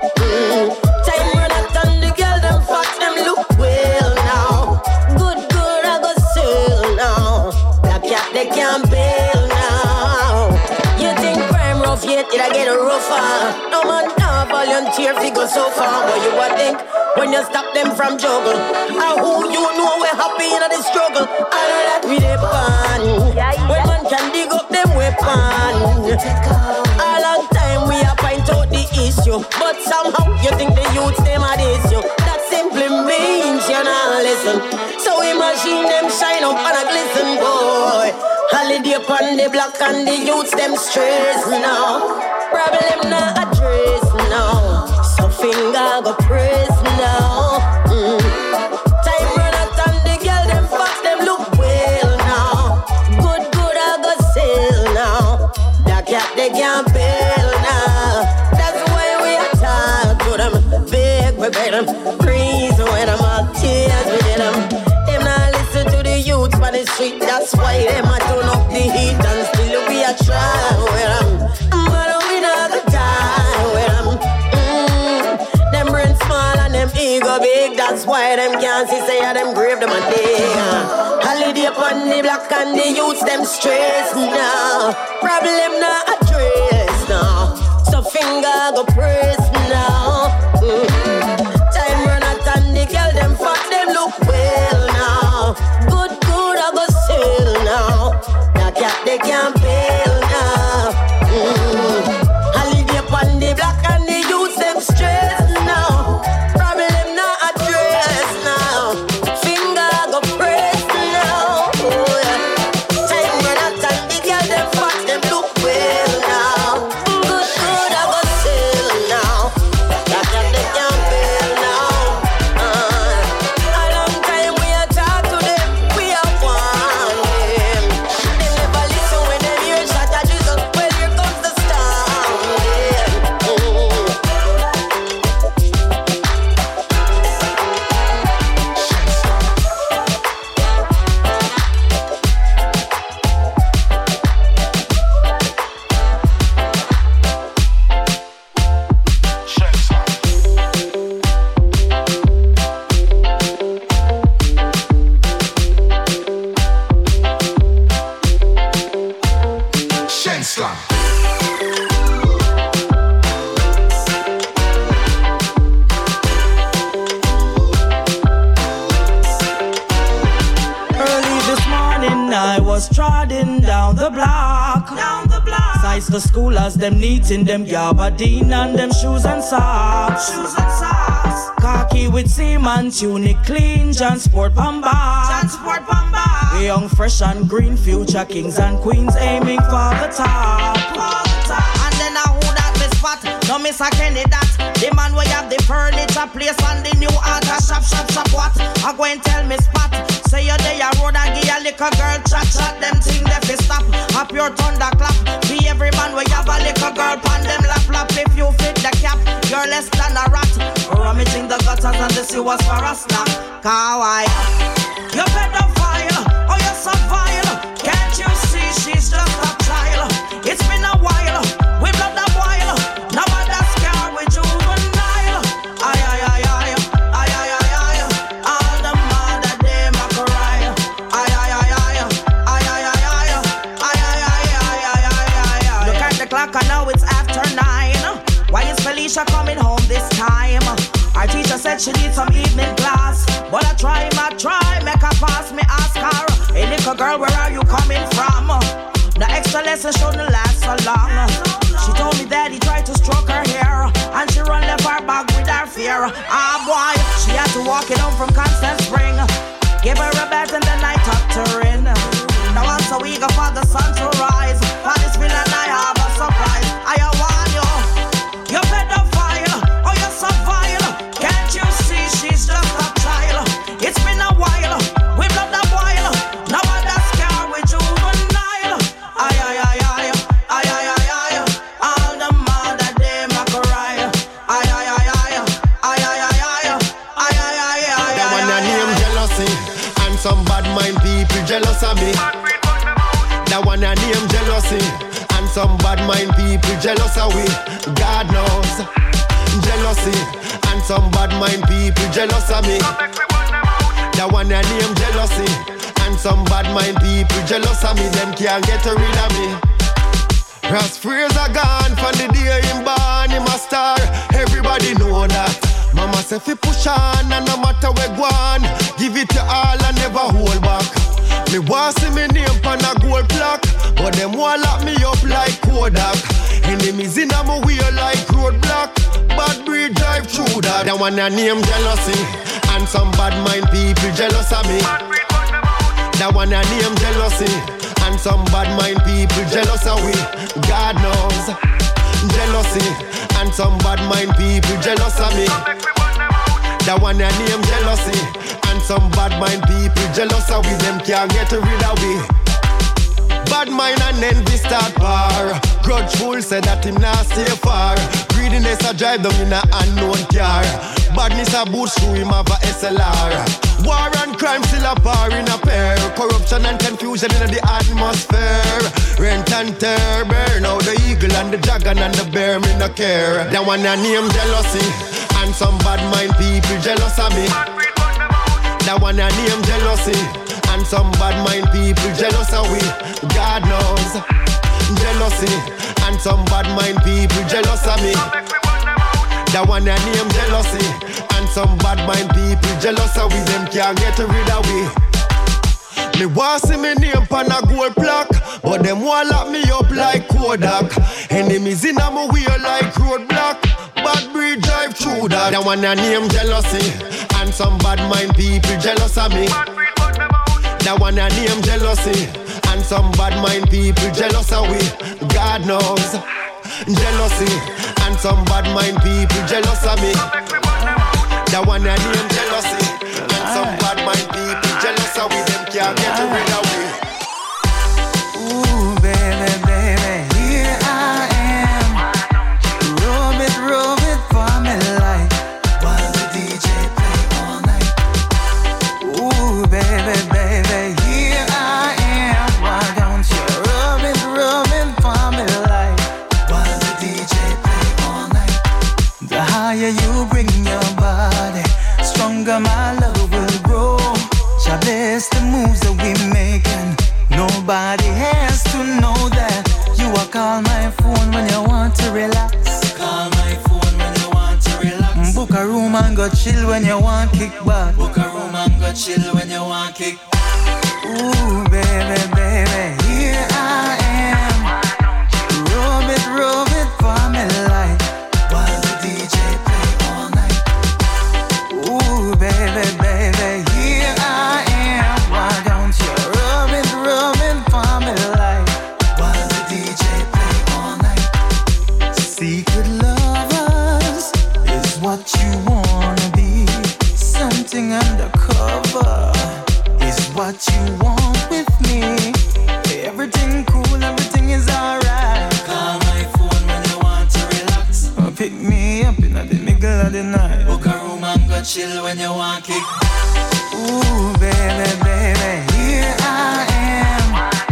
Time run out and the girl them fat them look well now. Good I go sell now. The cat they can't bail now. You think crime rough yet it I get rougher. No man can't volunteer fi go so far. But you would think when you stop them from juggle, and who you know we're happy in the struggle. All of that we dey pan. When man can dig up them weapon. A long time we a point out the issue, but somehow you think the youths them are the issue. That simply means you're not listen. So we machine them shine up and a glisten, boy. Holiday upon the block and the youths them stress now. Problem not address now. So finger go press now. Time run out and the girl them fat them look well now. Good I go sell now. The cat they can't bail now. That's why we attack to them. Big we beg them. Breeze when them all tears we get them. Them not listen to the youths on the street. That's why them a turn up the heat and still we a try with them. But we not go dig. That's why them can't see say them grave them a dig. Holiday upon the black and the youths them stress now. Problem not address now. So finger go press now. Time run out and the girl them fuck them look well now. Good I go sell now. That cat they can't bail now. Holiday upon the black and the youths them stress now. Problem not address now. Finger go press now. Oh, yeah. Time run out and the girl them fuck them look well now. Good I go sell now. That cat they can't bail now. A long time we a talk to them. We are one them. They never listen when they hear shot at Jesus. Well, here comes the storm. Slam. Early this morning I was trotting down the block. Sights the schoolers, them neat in them gabardine and them shoes and socks. Khaki with seaman tunic, clean transport pamba. We young, fresh and green, future kings and queens aiming for the top. And then I who that me spot, no miss a Kenny that. The man where have the furniture place and the new art shop what? I go and tell me spot. Say you there road and give a little girl chat them thing they fi stop. A pure thunderclap. Be every man where have a little girl pan them lap. If you fit the cap, you're less than a rat. Rummaging the gutters and the sewers for a snack. Kawaii. You better fire, oh you're so vile. Can't you see she's just a child? It's been a while, we've loved a while. Now I just scar with juvenile. Ay. All the mother they ma cry. Ay. Look at the clock and now it's after 9. Why is Felicia coming home this time? Our teacher said she needs some evening class. But I try, make her pass. Me ask her, hey little girl, where are you coming from? The extra lesson shouldn't last so long. She told me that he tried to stroke her hair, and she run left her bag with her fear. Ah boy, she had to walk it home from Constant Spring. Give her a bath and then I tucked her in. Now once a week for the sun to rise. For this villain I have a surprise. I warn you, you better fire, or you're so vile. Can't you see she's just a child? It's been a while, we've loved a while. Now I just scar with juvenile. Ay. All the mother they ma cry. Ay. That one a name jealousy, and some bad mind people jealous of me. That one a name jealousy, and some bad mind people jealous of we. God knows jealousy, and some bad mind people jealous of me. That one a name jealousy, and some bad mind people jealous of me. Them can't get rid of me. Ross Fraser gone from the day him born, him a star. Everybody know that. Mama say fi push on, and no matter where go on, give it your all and never hold back. Me want see me name on a gold plaque, but them want lock me up like Kodak. Enemies in a my way like roadblock. Bad breed drive through that. That one a name jealousy, and some bad mind people jealous of me. That one a name jealousy, and some bad mind people jealous of we. God knows jealousy, and some bad mind people jealous of me. That one a name jealousy, and some bad mind people jealous of we. Them can't get rid of we. Bad mind and envy start war. Grudgeful said that him not stay far. Greediness a drive them in a unknown car. Badness a boost through him have a SLR. War and crime still a par in a pair. Corruption and confusion in the atmosphere. Rent and tear, burn out the eagle and the dragon and the bear, me no care. That one a name jealousy, and some bad mind people jealous of me. That one I name jealousy, and some bad mind people jealous of we. God knows, jealousy, and some bad mind people jealous of me. That one I name jealousy, and some bad mind people jealous of we. Them can't get rid of we. Me want see me name pan a gold plaque, but them want lock me up like Kodak. Enemies in a my way like roadblock. Bad breed drive through that. That one a name jealousy, and some bad mind people jealous of me. That one a name jealousy, and some bad mind people jealous of we. God knows, jealousy, and some bad mind people jealous of me. That one a name jealousy, and some bad mind people jealous of we. Them can't get rid of we. Ooh, baby, baby, here I am. Rub it for me like while the DJ play all night. Ooh, baby, baby, here I am. Why don't you rub it for me like while the DJ play all night? The higher you bring your body, stronger my love will grow. God bless the moves that we making. Nobody has to know that. You are call my phone when you want to relax. Call my phone when you want to relax. Book a room and go chill when you want kick back. Book a room and go chill when you want kick. Ooh, baby, baby, here I am. Rub it for me like while the DJ play all night. Ooh, baby, baby, here I am. Why don't you rub it for me like while the DJ play all night? Secret lovers is what you wanna be. Something undercover is what you want with me. Everything cool, everything is alright. Call my phone when you want to relax. Or pick me up in the middle of the night. Book a room and go chill when you want kick. Ooh, baby, baby, here I am.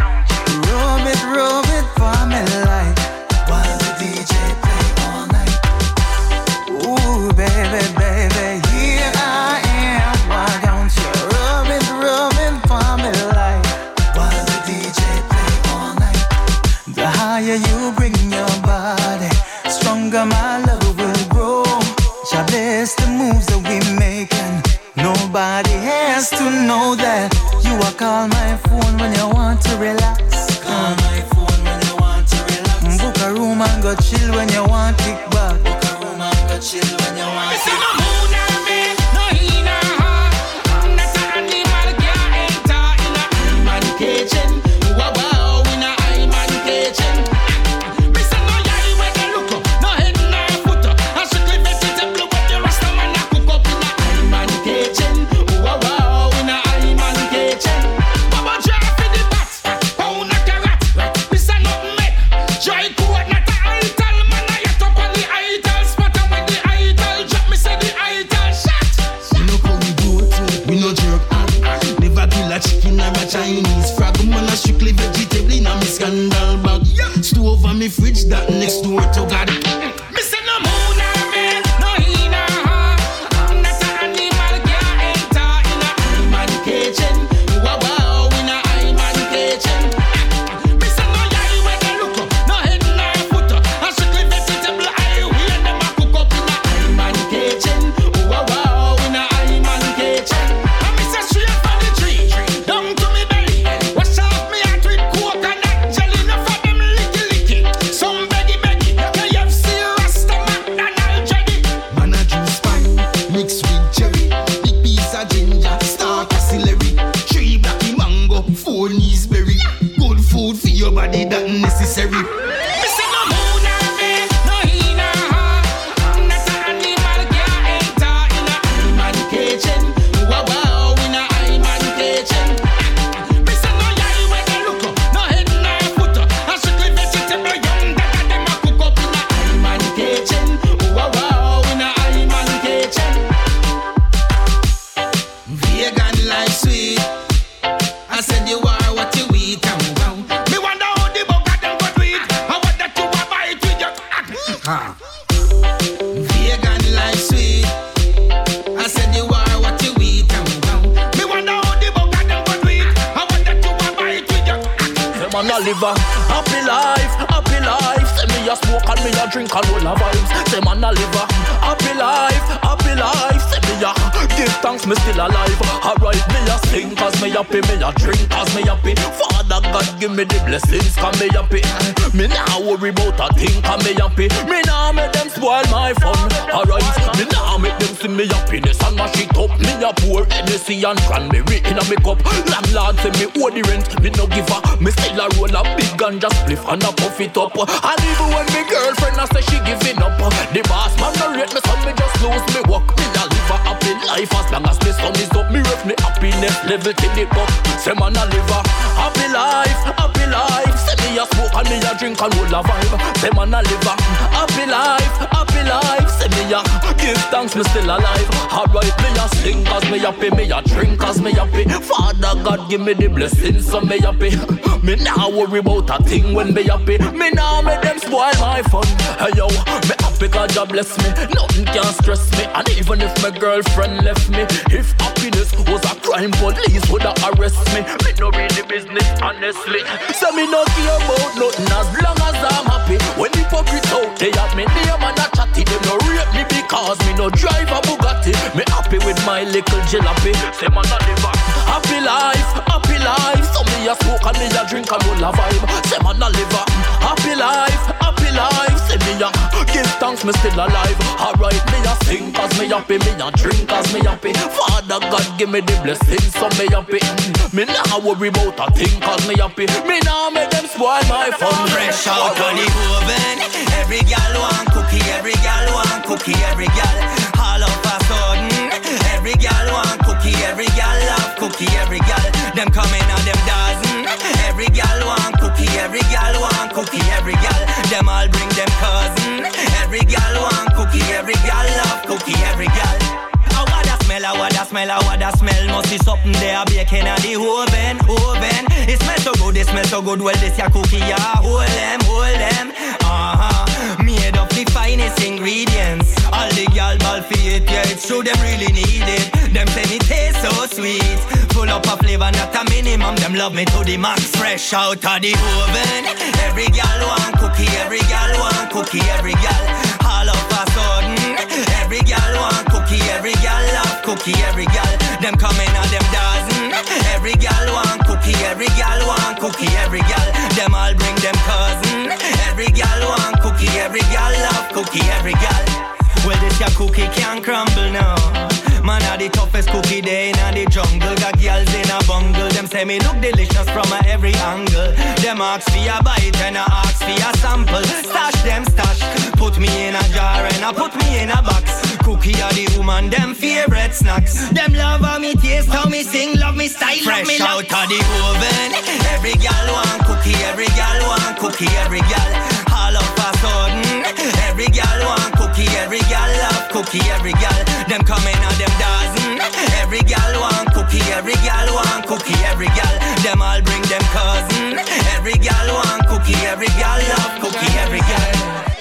Rub it for me like while the DJ play all night. Ooh, baby, baby, here I am. Why don't you rub it for me like while the DJ play all night? The higher you bring your body, stronger my love will grow. God bless the moves that we making. Nobody has to know that. You are call my phone when you want to relax. Call my phone when you want to relax. Book a room and go chill when you want kick back. Book a room and go chill when you want kick back. Chinese frog man a strictly vegetable in a me scandal bag. Stove on me fridge that next door to God. Me say no moon or man, no he no her. I'm not an animal, can't enter in a man kitchen. Wow wow in a man kitchen. Me say no yai when they look up, no head no foot. A strictly vegetable I wear them a cook up in a man kitchen. Wow wow in a man kitchen. And me say straight from the tree down to me belly. Wash off me heart with coconut jelly. No for them licky. Some beggy. KFC, Rasta, McDonald's, Jedi. Man a juice pan mixed with cherry. Big piece of ginger, star celery. 3 blacky mango, 4 knees berry. Good food for your body that necessary. Me say no moon or man, no he no her. I'm not an animal, can't enter in a man kitchen. Wow wow in a man kitchen. Me say no yai when they look up, no head no foot. A strictly vegetable young that them a cook up in a man kitchen. Wow wow in a man kitchen. Vegan like sweet. I said you are what you eat and wow. Me wonder how the bugger them go do it. man a live a happy life, happy life. Say me a smoke and me a drink and all a vibes. Say man a live a happy life, happy life. Say me a give thanks, me still alive. Alright, me a sing cause me happy, me a drink cause me happy. Father God give me the blessings cause me happy. Me nah worry about a thing cause me happy. Me nah make them spoil my fun. Alright, me nah make them see me happiness and mash it up. Me a pour Hennessy and cranberry in a me cup. Landlord say me owe the rent, me no give a. Me still a roll a big ganja spliff and a puff it up. And even when me girlfriend a say she giving up, the boss man no rate me so me just lose me work. Me a live a happy life as long as me sun is up. Me ref me happiness level till it up. Say man a live a happy life, happy life. Say me a smoke and me a drink and roll a vibe. Say man a live a happy life, happy life. Say me a give thanks, me still alive. Alright, me a sing cause me happy, me a drink cause me happy. Father God give me the blessings so me happy. Me nah worry about a thing when me happy. Me nah make them spoil my fun. Hey yo, me happy cause God bless me. Nothing can stress me. And even if my girlfriend left me, if happiness was a crime, police woulda arrest me. Me no read the business honestly. So me no care about nothing as long as I'm happy. When the hypocrites out they have me name and a chatty, them no rate me because me no drive a Bugatti. Me happy with my little jalopy. Say man a live a happy life, happy life. So me a smoke and me a drink and roll a vibe. Say man a live a happy life, happy life. Say me a give thanks, me still alive. Alright, me a sing cause me happy, me a drink cause me happy. Father God give me the blessings so me happy. Me nah worry about a thing cause me happy. Me nah make them spoil my fun. Fresh out of the oven, every gal want cookie, every gal want cookie, every gal. All of a sudden, every gal want cookie, every gal love cookie, every gal. Them coming out them dozen. Every gal want cookie, every gal want cookie, every gal. Them all bring them cousin. Every gal want cookie, every gal love cookie, every gal. What a smell, what a smell, what a smell. Must be something there baking at the oven, oven. It smells so good, it smells so good. Well, this your cookie, yeah. Hold them. Made of the finest ingredients. All the gal ball for it, yeah. It's true, them really need it. Them say it tastes so sweet. Full up of flavor, not a minimum. Them love me to the max. Fresh out of the oven. Every gal want cookie, every gal want cookie, every gal. All of a sudden, every gal want cookie, every gal love cookie, every gal. Them coming out them dozen. Every gal want cookie, every gal want cookie, every gal. Them all bring them cousin. Every gal want cookie, every gal love cookie, every gal. Well, this your cookie can't crumble now. Man, are the toughest cookie there in the jungle. Got girls in a bungle. Them say me look delicious from every angle. Them ask for a bite and I ask for a sample. Stash them stash. Put me in a jar and I put me in a box. Cookie are the woman, them favorite snacks. Them love how me taste, how me sing, love me style, fresh me out of the oven. Every gal want cookie, every gal want cookie, every gal. All of a sudden, every gal want cookie, every gal love cookie, every gal. Them coming out them dozen. Every gal want cookie, every gal want cookie, every gal. Them all bring them cousin. Every gal want cookie, every gal love cookie, every gal.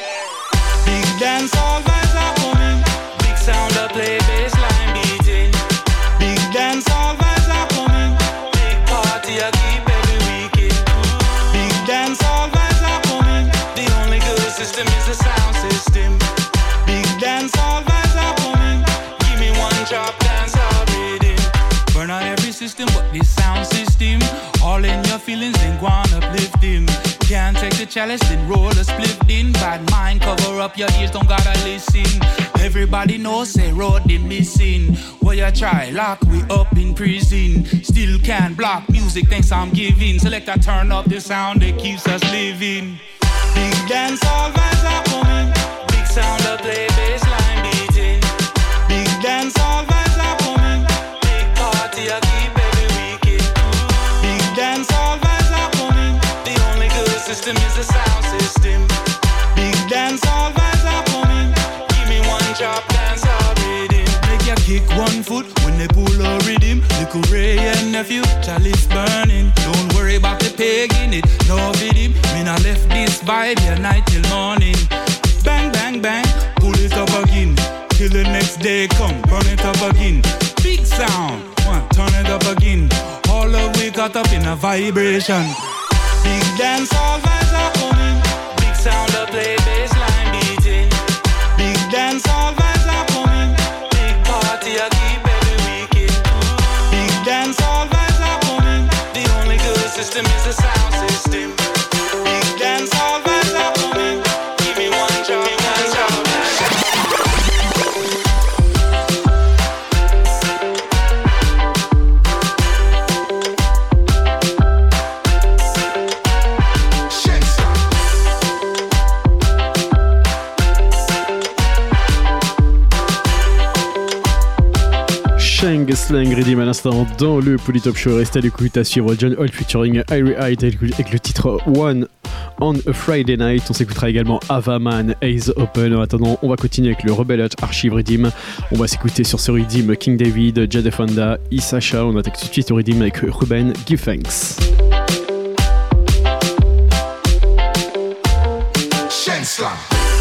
Big dance all vibes are coming. Big sound of play bassline beating. Big dance all vibes are coming. Big party I keep every weekend. Big dance all vibes are coming. The only good system is the sound system. Big dance all vibes are coming. Give me one drop dance all rhythm. Burn out every system but this sound system. All in your feelings then go on uplifting. Can't take the chalice then roll a split in. Bad mind cover up your ears, don't gotta listen. Everybody knows say road they missing. What you try, lock we up in prison. Still can't block music, thanks I'm giving. Selector turn up the sound that keeps us living. Big dance all vibes are coming. Big sound of play bassline beating. Big dance all vibes are coming. Big party I keep every weekend. Big dance all vibes are coming. The only good system is the sound system. Big dance all vibes are coming. Give me one drop dance all rhythm. Make you kick one foot when they pull a rhythm. Little Ray and nephew, chalice burning. Don't worry about the peg in it, no video. Me not left this vibe here night till morning. Bang, bang, bang, pull it up again. Till the next day come, burn it up again. Big sound, one, turn it up again. All of we got up in a vibration. Big dance all vibes are coming. Big sound of play, bassline beating. Big dance all vibes are coming. Big party I keep every weekend. Big dance all vibes are coming. The only good system is the sound system. Big dance all vibes are coming. Give me one job, one job. Shang Slang Redeem à l'instant dans le Polytop Show. Restez à l'écoute, à suivre John Holt featuring Irie Hyde avec le titre One on a Friday Night. On s'écoutera également Avaman, Eyes Open. En attendant, on va continuer avec le Rebel Heart Archive Redeem. On va s'écouter sur ce Redeem King David, Jade Fonda, Isasha. On attaque tout de suite au Redeem avec Ruben Give Thanks. Shang Slang.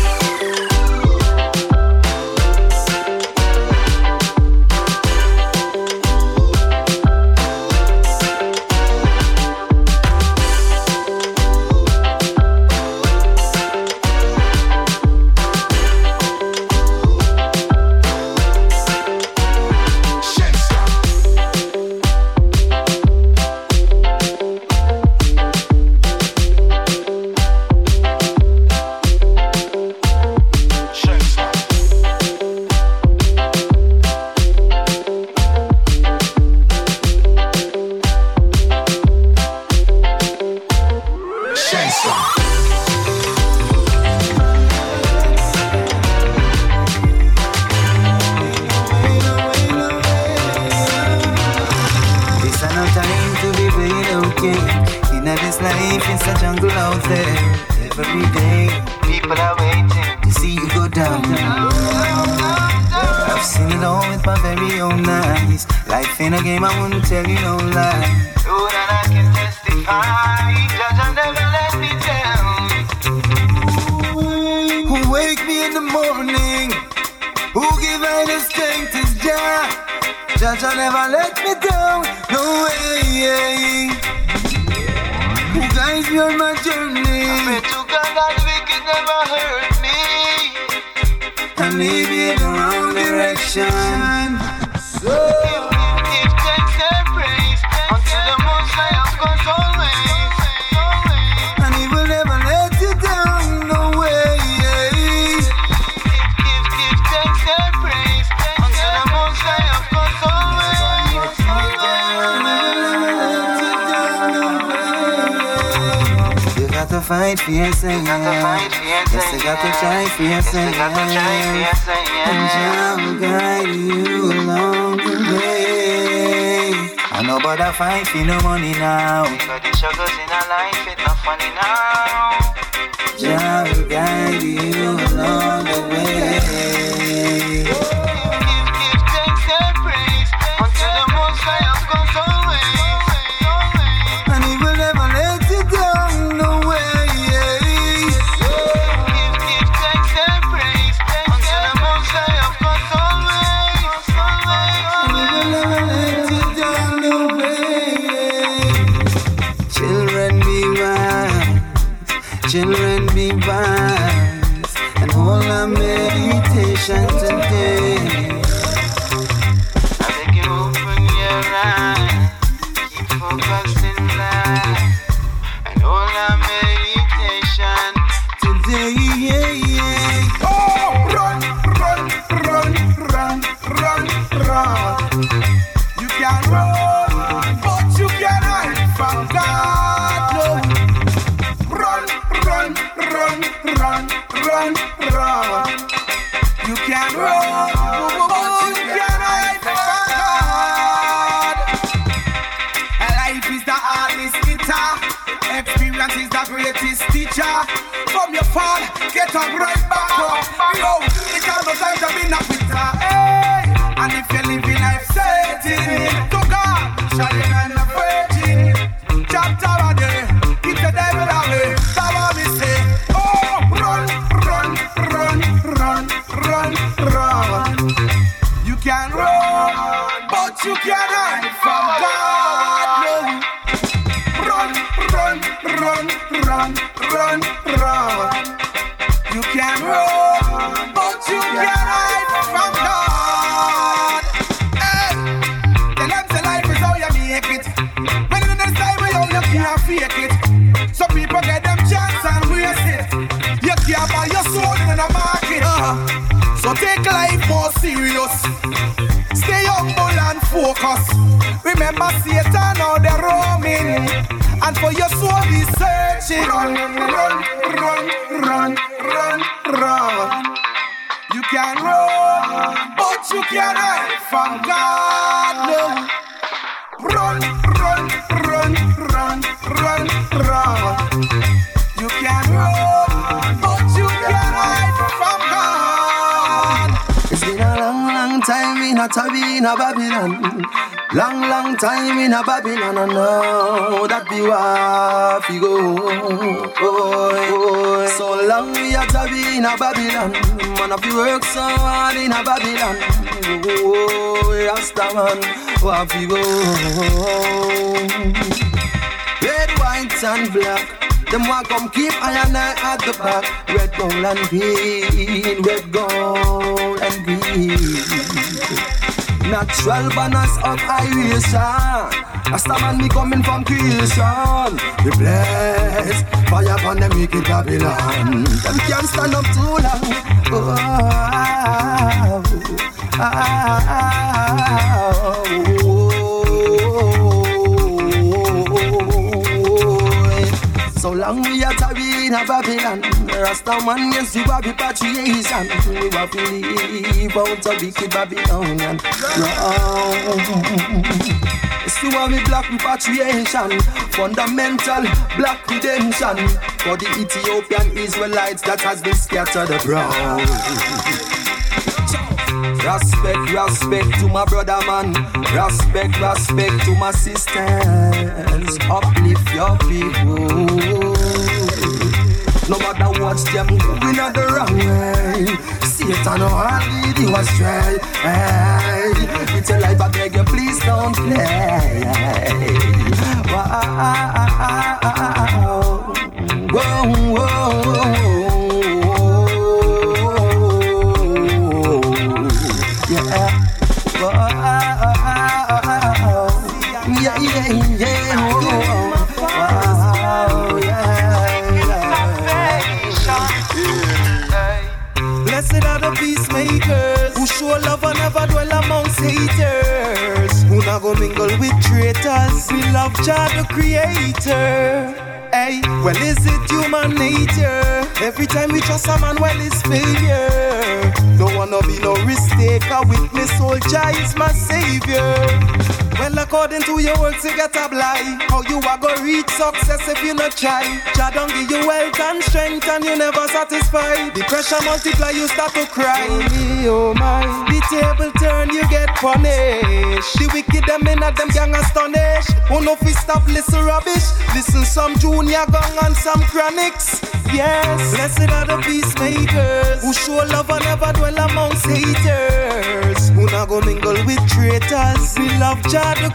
Fight for your singing. Yes, they got to try for your singing. And Jah will guide you along the way. I know about that fight for no money now. Because the struggles in our life, it's not funny now. Jah will guide you along the way. Give thanks and praise unto the Most High of God's always. And He will never let you down, no way. Children be wise and hold our meditation today. I beg you open your eyes, keep focused in life and hold our meditation today. Oh, run, run, run, run, run, run. You can run, but you can't hide from God. No. Run, run, run, run. You can run, but you can't hide from God. Life is the hardest guitar. Experience is the greatest teacher. From your fall, get up right back up. Yo, it can't no time to be a quitter. Hey, and if you live in life setting, to God, shall you not the virgin. Chapter a day, keep the devil away. You can run, but you can't hide from God. No. Run, run, You can run, but you can't hide from God. Hey, tell them the life is how you make it. When in the time where you can't fake it. Some people get them chance and waste it. You can't buy your soul in the market. So take life more serious. Stay humble and focus. Remember Satan out there roaming, and for your soul he's searching. Run, run, run, run, run, run. You can run, but you can't hide from God. No. Run, run, run, run, run, run. You can run, but you can't hide from God. It's been a long, long time in a tabby in a Babylon. Long, long time in a Babylon, I know that be where we go. So long we a tabby in a Babylon. Man, if you work so hard in a Babylon. Rasta man, where we go. Red, white and black, them want come keep iron at the back. Red, gold and green, red, gold and green. Natural banners of iration. Rasta man, me coming from creation. We bless fire upon them wicked Babylon. Them can't stand up too long. So long we are tarry in a Babylon. Rasta man, yes, you have repatriation. We have to leave out a wicked Babylonian. Yes, you have black repatriation. Fundamental black redemption. For the Ethiopian Israelites that has been scattered abroad. Respect, respect to my brother man. Respect, respect to my sisters. Uplift your people. No matter what them going the wrong way. Satan will lead you astray. Hey, it's a life I beg you, please don't play. Wow. Whoa, whoa. Blessed are the peacemakers who show love and never dwell amongst haters, who not go mingle with traitors. We love Jah the Creator. Hey, well, is it human nature? Every time we trust a man, well, it's failure. Don't wanna be no risk taker. Witness, soul, Jah is my savior. Well, according to your works, you get a blind. How you are gonna reach success if you not try? Jah don't give you wealth and strength and you never satisfied. The pressure multiply, you start to cry. Oh my, the table turn, you get punished. The wicked them in at them gang astonished. Who know if we stop listen rubbish? Listen some junior gang and some chronics. Yes, blessed are the peacemakers who show love and never dwell amongst haters, who not go mingle with traitors. We love Jah the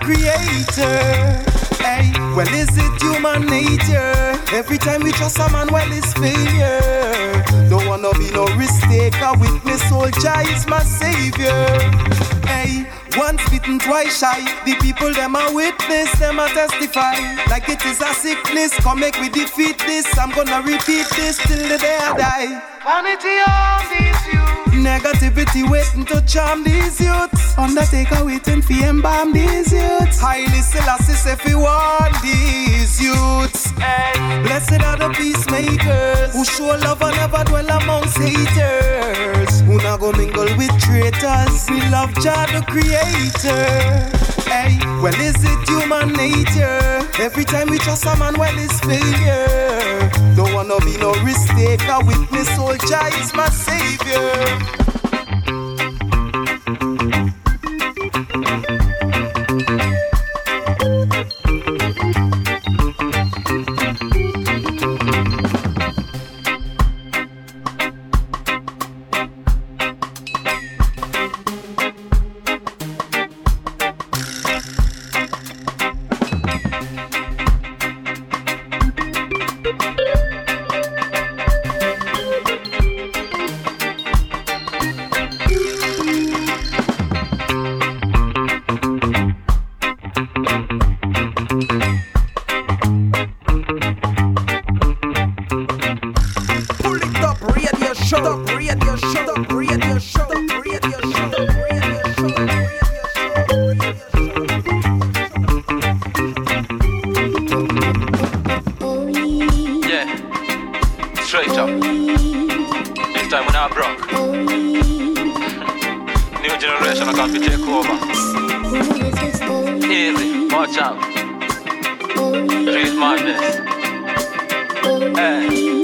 Creator. Hey, well, is it human nature? Every time we trust a man, well, it's failure. Don't wanna be no risk taker. Witness, soul, Jah is my savior. Hey, once bitten, twice shy. The people them a witness, them a testify. Like it is a sickness, come make we defeat this. I'm gonna repeat this till the day I die. Vanity on these youths. Negativity waiting to charm these youths. Undertaker waiting for embalm these youths. Highly Selassie if we want these youths. Hey. Blessed are the peacemakers who show love and never dwell amongst haters, who not go mingle with traitors. We love Jah the Creator. Hey, well, is it human nature? Every time we trust a man, well, it's failure. Don't wanna be no risk taker. Witness, soul, Jah is my savior. Straight up. This time we're not broke. New generation are going to take over. Easy, watch out. Street madness. Hey.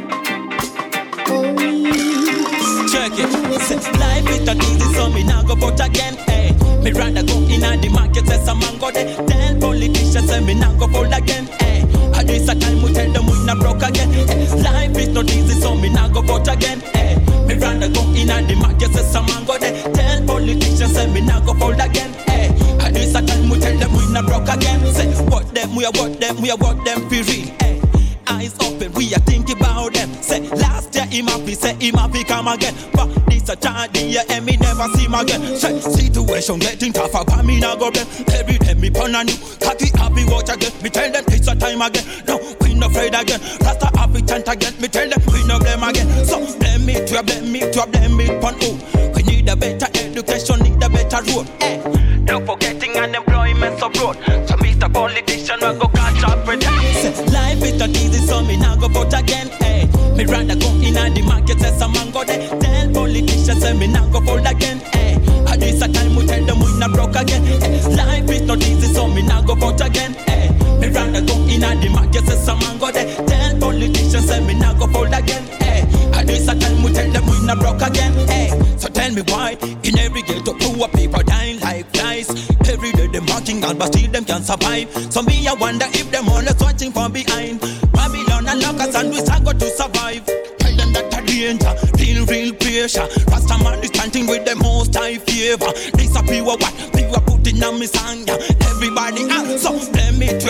Check it. Say, life is not easy, so me now go vote again. Hey, me rather go in the market, say some man go there. Tell politicians, say me now go vote again. Hey, at this a time we tell them we not broke again. Hey, life is not easy, so me now go vote again. Hey, me rather go in the market, say some man go there. Tell politicians, say me now go vote again. Hey, at this a time we tell them we not broke again. Say, what them, we are what them, we are what them for real. Hey. Eyes open, we are thinking about them. Say, last year him happy, say him happy come again. But this a child the year and me never see him again. Say, situation getting tougher, but me not go blame. Every day me pon on you, cocky happy watch again. Me tell them it's a time again. No, we no afraid again. Rasta happy chant again. Me tell them we no blame again. So blame me to blame me to blame it pon who? We need a better education, need a better road. Eh, don't forgetting unemployment abroad. So Mr. Politician we go catch up with that. Life is not easy, so me now go vote again. Hey, me rather go in the market, say some man go there. Tell politicians, say me now go vote again. Hey, at this a time we tell them we not broke again. Hey, life is not easy, so me now go vote again. Hey, me rather go in the market, say some man go there. Tell politicians, say me now go vote again. Hey, at this a time we tell them we not broke again. Hey, so tell me why in every ghetto poor people dying like flies. Every day them working hard, but still them can't survive. So me I wonder if them always watching from behind. Babylon and Locust and we got to survive. Tell them that a danger, real pressure. Rasta man is chanting with the most high favor. This a pure what people putting on me song. Everybody so blame it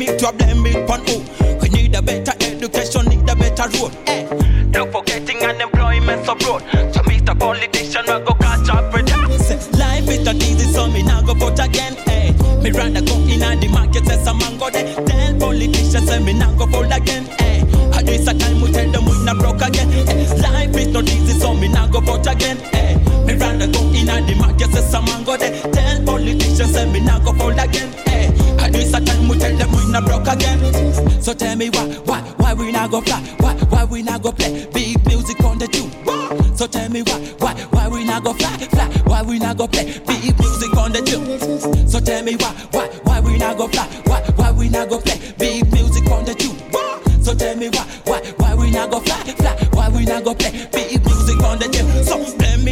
pon who? We need a better education, need a better road. Eh, don't forgetting unemployment abroad. So Mr. Politician we go catch up with that. Life is not easy, so me now go vote again. Hey, me rather go in the market, say some man go there. Tell politicians, say me now go vote again. Hey, at this a time we tell them we not broke again. Hey, life is not easy, so me now go vote again. Hey, me rather go in the market, say some man go there. Tell politicians, say me now go vote again. Hey, at this a time we tell them we not broke again. So tell me why we not go fly? Why we not go play big music on the tune? So tell me why we not go fly? Why we not go play big music on the tune? So tell me why we not go fly? Why we not go play big music on the tune? So tell me why we not go fly? Why we not go play big music on the tune? So blame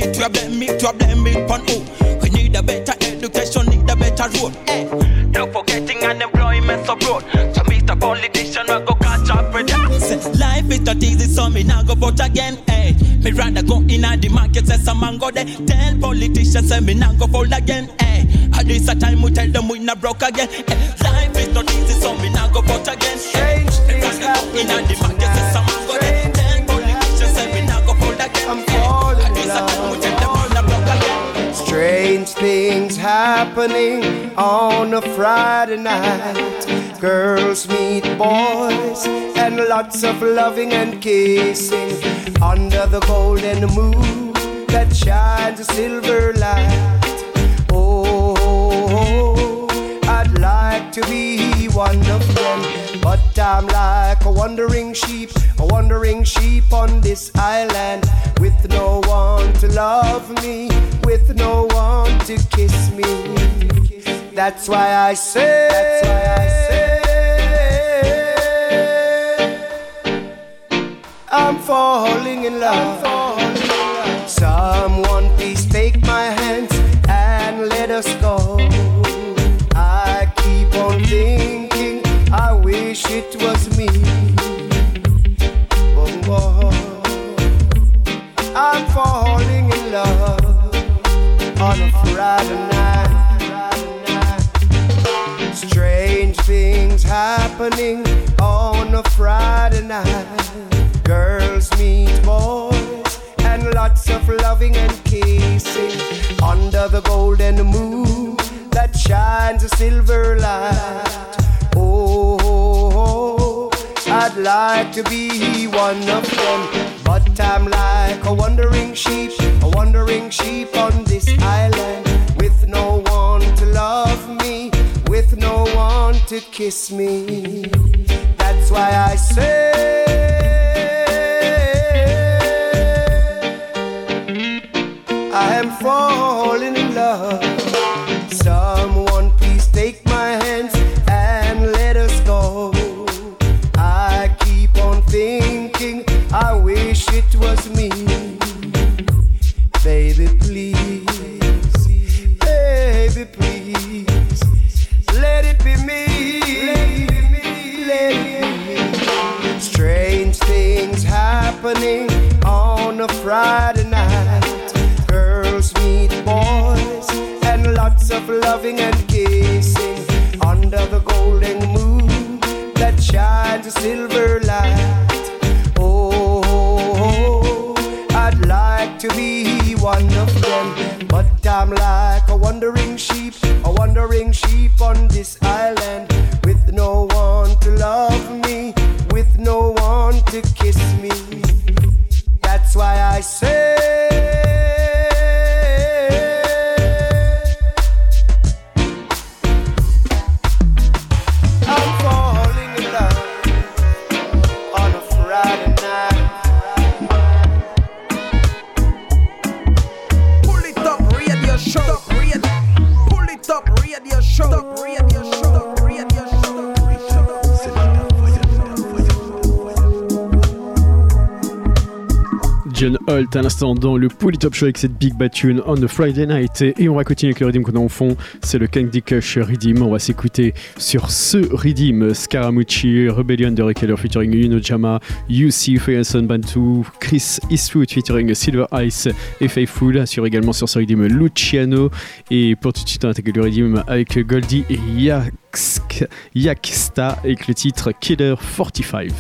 me pon who? We need a better education, need a better road. Eh, don't forgetting unemployment abroad. So Mr. Politician we go catch up with that. Life is not easy, so me now go vote again. Hey, me rather go in the market, say some man go there. Tell politicians, say me now go vote again. Hey, at this a time we tell them we not broke again. Hey, life is not easy, so me now go vote again. Hey, me rather go in the market, say some man go there. Tell politicians, say me now go vote again. Hey, at this a time we tell them we not broke again. Strange things happening on a Friday night. Girls meet boys and lots of loving and kissing under the golden moon that shines a silver light. Oh, I'd like to be one of them, but I'm like a wandering sheep on this island, with no one to love me, with no one to kiss me. That's why I say I'm falling in love. Someone please take my hands and let us go. I keep on thinking, I wish it was me. Oh, I'm falling in love on a Friday night. Strange things happening on a Friday night. Girls meet boys and lots of loving and kissing under the golden moon that shines a silver light. Oh, I'd like to be one of them, but I'm like a wandering sheep on this island, with no one to love me, with no one to kiss me. That's why I say evening on a Friday night. Girls meet boys and lots of loving and kissing under the golden moon that shines a silver light. Oh, I'd like to be one of them, but I'm like a wandering sheep on this island, with no one to love me, with no one to kiss me. That's why I say I'm falling in love on a Friday night. Pull it up, radio show. Pull it up, radio show. John Holt à l'instant dans le Polytop Show avec cette Big Bad Tune on the Friday Night, et on va continuer avec le rhythm qu'on a en fond, c'est le Candy Kush rhythm. On va s'écouter sur ce rhythm Scaramucci, Rebellion de Rekeller featuring Yuno Jama, UC, Freyason Bantu, Chris Eastwood featuring Silver Ice et Faithful, sur également sur ce rhythm Luciano. Et pour tout de suite on attaque le rhythm avec Goldie et Yaksta avec le titre Killer 45.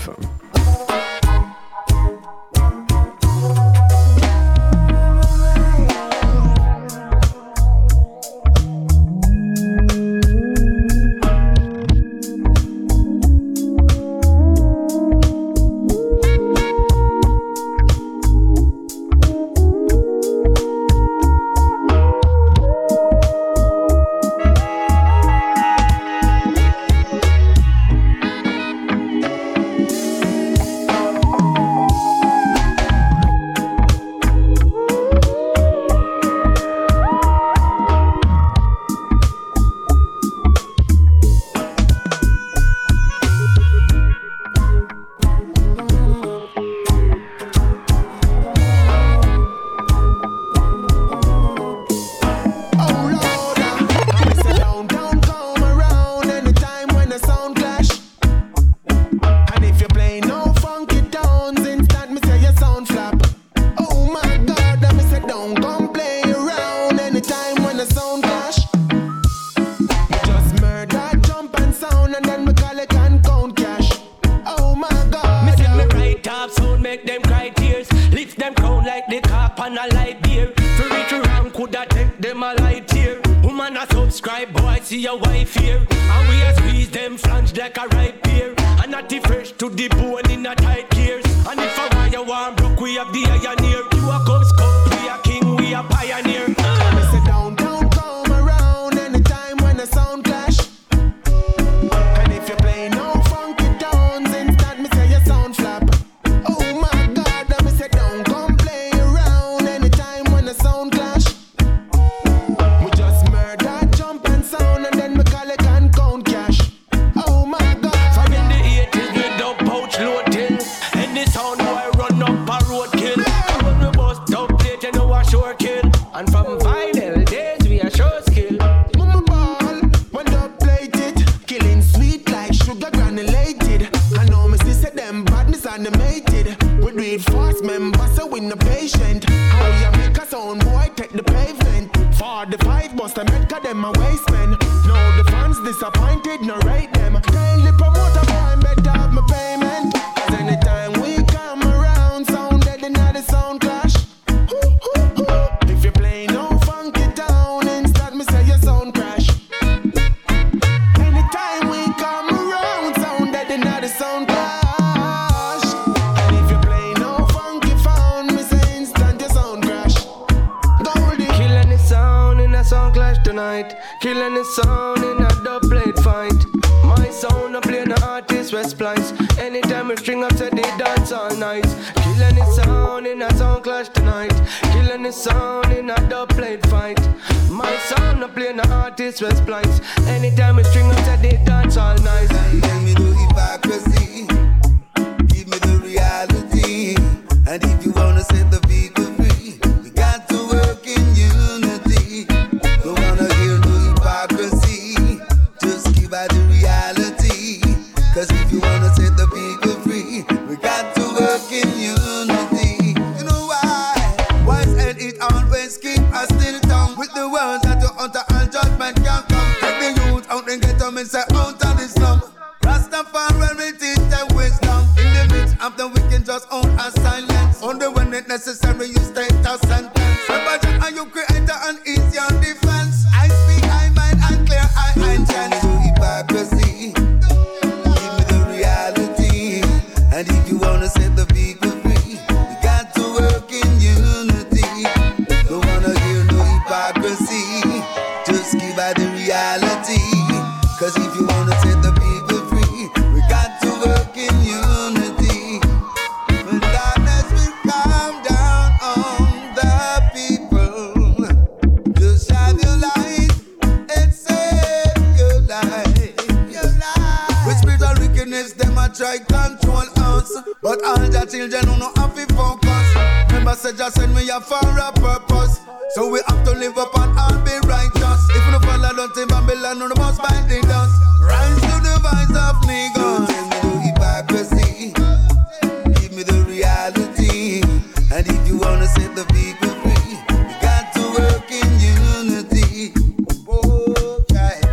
Cause if you wanna set the people free, we got to work in unity. where you status and tense. Remember, and you creator and easy on defense. I speak, I mind and clear, I intend to hypocrisy. Give me the reality. And if you wanna set the people free, we got to work in unity. Don't wanna hear no hypocrisy. Just give out the reality. Cause if you wanna set the people free, we got to work in unity. When darkness will come down on the people, just shine your light and save your life. With spiritual wickedness, them a try control us, but all the children who know have to focus. Remember, said just send me here for a purpose. So we have to live up and all be righteous. If you don't follow, don't take Babylon, no, the most bite the dust. Rise to the voice of niggas. Tell me the hypocrisy. Give me the reality. And if you wanna set the people free, you got to work in unity. Oh, yeah.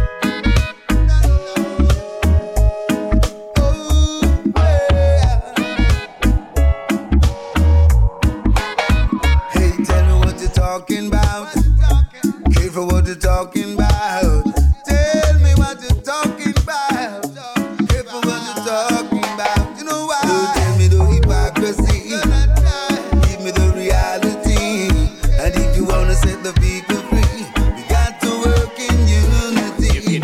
Oh, yeah. Hey, tell me what you're talking about. Careful what you're talking about. Tell me what you're talking about. Careful what you're talking about. You know why? Don't tell me the hypocrisy. Give me the reality. And if you wanna set the people free, we got to work in unity.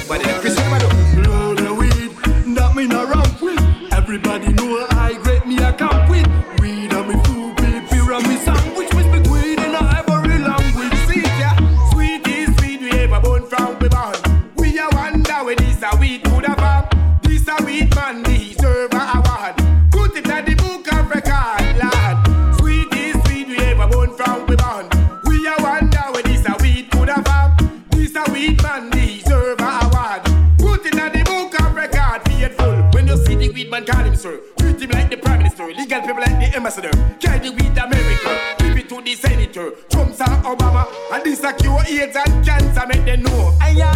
Blow the weed, that me no ramp with. Everybody know I great me a camp with. Weed and me food, paper and me sandwich. With me weed in a every language. See ya, sweet is sweet, we ever born from we born. We a wonder where this a weed could have come. This a weed man deserve a award. Put it at the book of record, lad. Sweet is sweet, we ever born from we born. We a wonder where this a weed could have come. This a weed man deserve a award. Put it at the book of record, faithful. When you see the weed man, call him sir. Treat him like the prime minister. Legal people like the ambassador. Carry the weed America. Give it to the senator. Trump's and Obama. And this a cure AIDS and cancer, make them know.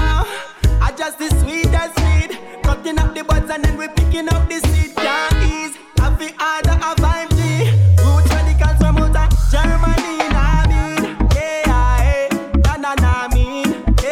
I just the sweetest weed. Cutting up the buds and then we picking up the seed. Can't ease. Have the order of 5G. Roots radicals from out of Germany. Nah mean, yeah, nah mean,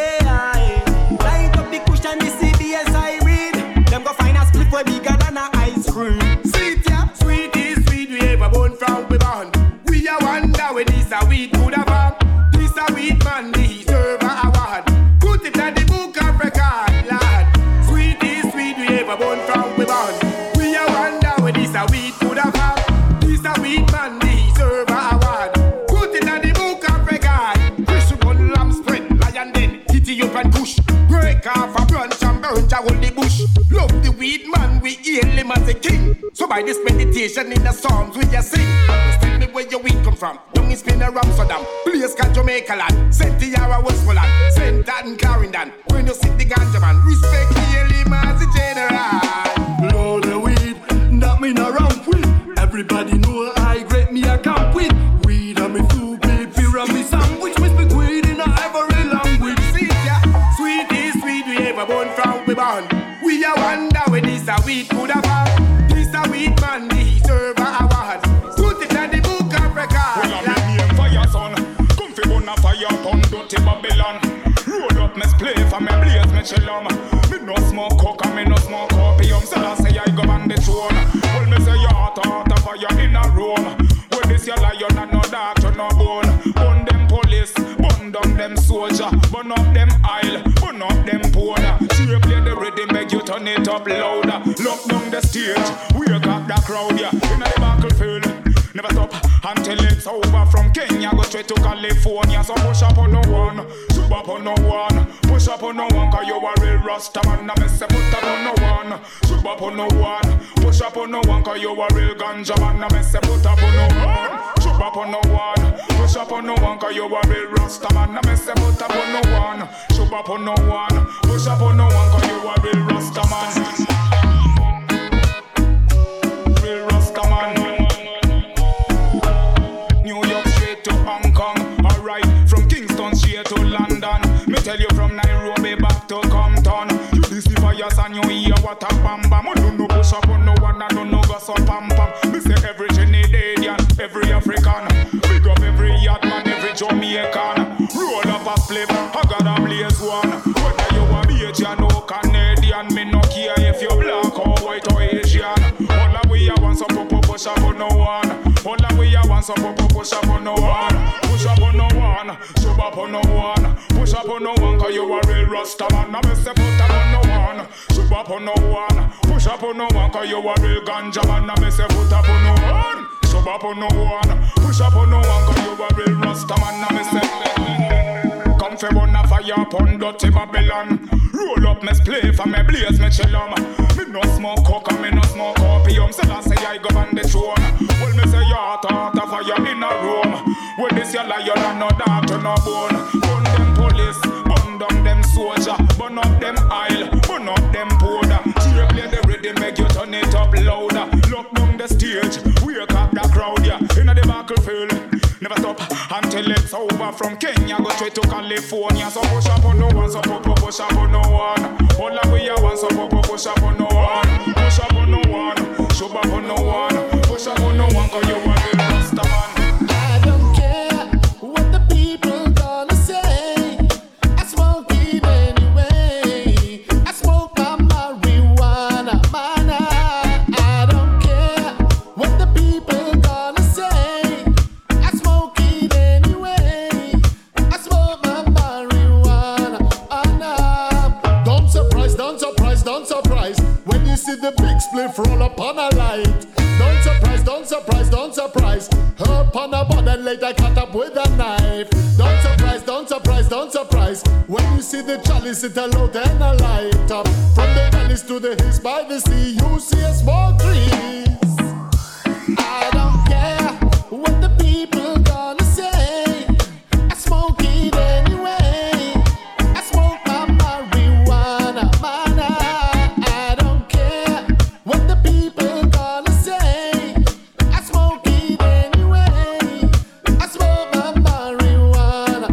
yeah. Light up the cushion, the CBS I read. Them go find a split way bigger than a ice cream. Sweet, yeah. Sweet is sweet, we ever born from we born. We a wonder where this a weed could have come. This a weed man deserve a award. Put it at the book of record, lad. Sweet is sweet, we ever born from we born. We a wonder where this a weed could have come. This a weed man deserve a award. Put it at the book of record. Fish one lamb spread, lion den, kitty up and push. Break off a branch and burn to hold the bush. Love the weed man, we hail him as a king. So by this meditation in the psalms we just sing. Just tell me where your weed come from. Young is been around Amsterdam, place called Jamaica land. St. Tiara, Westmoreland, St. and Clarendon. When you see the ganja man, respect the hail him as a general. Blow the weed, that me no ramp with. Everybody know I great me a camp with. Weed and me food, paper and me sandwich. With me weed in a every language. See ya, sweet is sweet, we ever born from we born. We a wonder where this a weed could have come. This a weed man deserve a award. Put it at the book of record. Well, I'm name fire son. Come fi burn a fire upon dirty Babylon. Roll up me spliff and me blaze me chillum. Me no smoke coke and me no smoke opium. So I say I go on the throne. Well, me say your heart a fire in a room. Well, this your lion and no doctor no bone. Burn them police, burn down them soldier. Burn up them aisle, burn up them powder. She play the rhythm, make you turn it up louder. Lock down the stage, wake up the crowd, yeah. In the battlefield, never stop until it's over. From Kenya go straight to California. So push up on no one, shoot up on no one. Push up on no one, cause you a real Rasta man. I miss a put up on no one, shoot up on no one. Push up on no one, cause you a real ganja man. I miss a put up on no one, shoot up on no one. Push up on no one, cause you a real Rasta man. I miss a put up on no one, shoot up on no one. Push up on no one, cause you a real Rasta man. Real Rasta man. New York straight to Hong Kong. Alright, from Kingston straight to London. Me tell you from Nairobi back to Compton. You this the fires and you hear what a bam bam. I don't know push up on no one, I don't know go so pam pam. Me say every Trinidadian, every African. Big up every yacht man, every Jamaican. Roll up a flip, I got a blaze one. Whether you a Bajan or Canadian, me no care if you black or white or Asian. All the way I want some popo push up on no one. All the way I want some popo push up on no one. Push up on no one, shove up on no one. Push up on no one, cause you a real Rasta man. Now me say put up on no one, shove up on no one. Push up on no one, cause you a real ganja man. Now me say put up on no one, shove up on no one. Push up on no one, cause you a real Rasta man. Now me say come fi burn a fire upon dirty Babylon. Roll up me spliff and me blaze me chillum. Me no smoke coke and me no smoke opium. So I say I govern the throne. Well me say you heart a fire in a room. Well this your lion and no daughter no bone. Burn them police, burn down them soldier. Burn up them aisle, burn up them powder. Cheer play the rhythm make you turn it up louder. Lock down the stage, wake up the crowd yeah. Inna the battlefield, never stop until it's over. From Kenya go straight to California. So push up on no one, so push up on no one. All the way I want, so push up on no one. Push up on no one, shove up on no one. Push up on no one, cause you are the Rasta man. I don't care what the people gonna say. I smoke it anyway. I smoke my marijuana, man. I don't care what the people gonna say. I smoke it anyway. I smoke my marijuana. Don't surprise, don't surprise, don't surprise when you see the big spliff roll up on a light. Don't surprise, don't surprise, don't surprise. Up on a board and later cut up with a knife. Don't surprise, don't surprise, don't surprise when you see the chalice it a load and a light up. From the valleys to the hills by the sea, you see a small trees. I don't care what the people gonna say. I smoke it anyway. I smoke my marijuana, man. I don't care what the people gonna say. I smoke it anyway. I smoke my marijuana,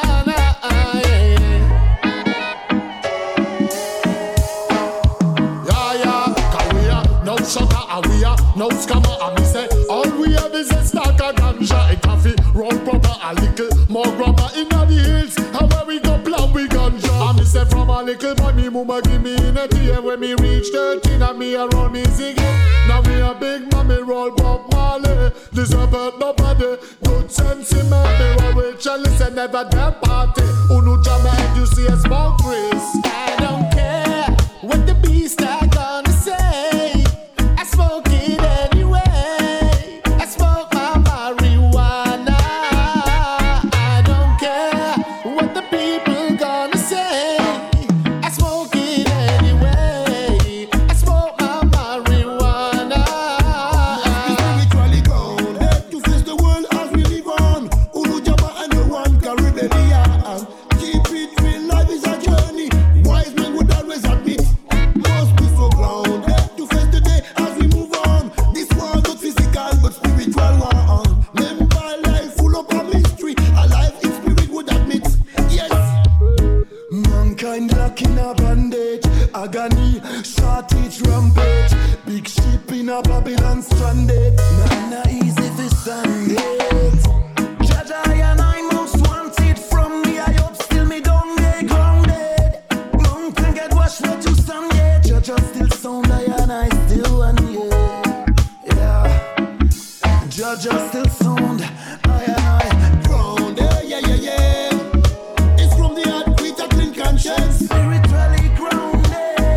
yeah. Cause we are no sugar and we are no scammer. And me say all we have is a stack of ganja, a coffee, roll proper, a little more grabber in the hills. And where we go plan we ganja. And me say from a little boy me mama give me in a tea. When me reach 13 and me a run easy again. Now me a big mommy roll Bob Marley. This about nobody. Good sense in me. Me roll with chalice and never them party. Unu jam and you see a smoke race. I don't care what the beast are gonna say. I smoke it anyway. I smoke my marijuana. I don't care what the people gonna say. I smoke it anyway. I smoke my marijuana. Spiritually grounded to face the world as we live on. Ulu Jama and the one Caribbean. Keep it real, life is a journey. Wise men would always admit. Must be so grounded to face the day as we move on. This war not physical but spiritual one. Remember life full of a mystery. A life in spirit would admit. Yes. Mankind lacking a bandage. Agony, shortage, rampage. Big ship in a Babylon stranded. Not easy to stand it. Jaja and I most wanted from me. I hope still me don't get grounded. Mountain get washed where to stand yet. Jaja still sound I and I still one yeah. Jaja still sound I and I grounded. Yeah. It's from the heart with a clean conscience. Spiritually grounded.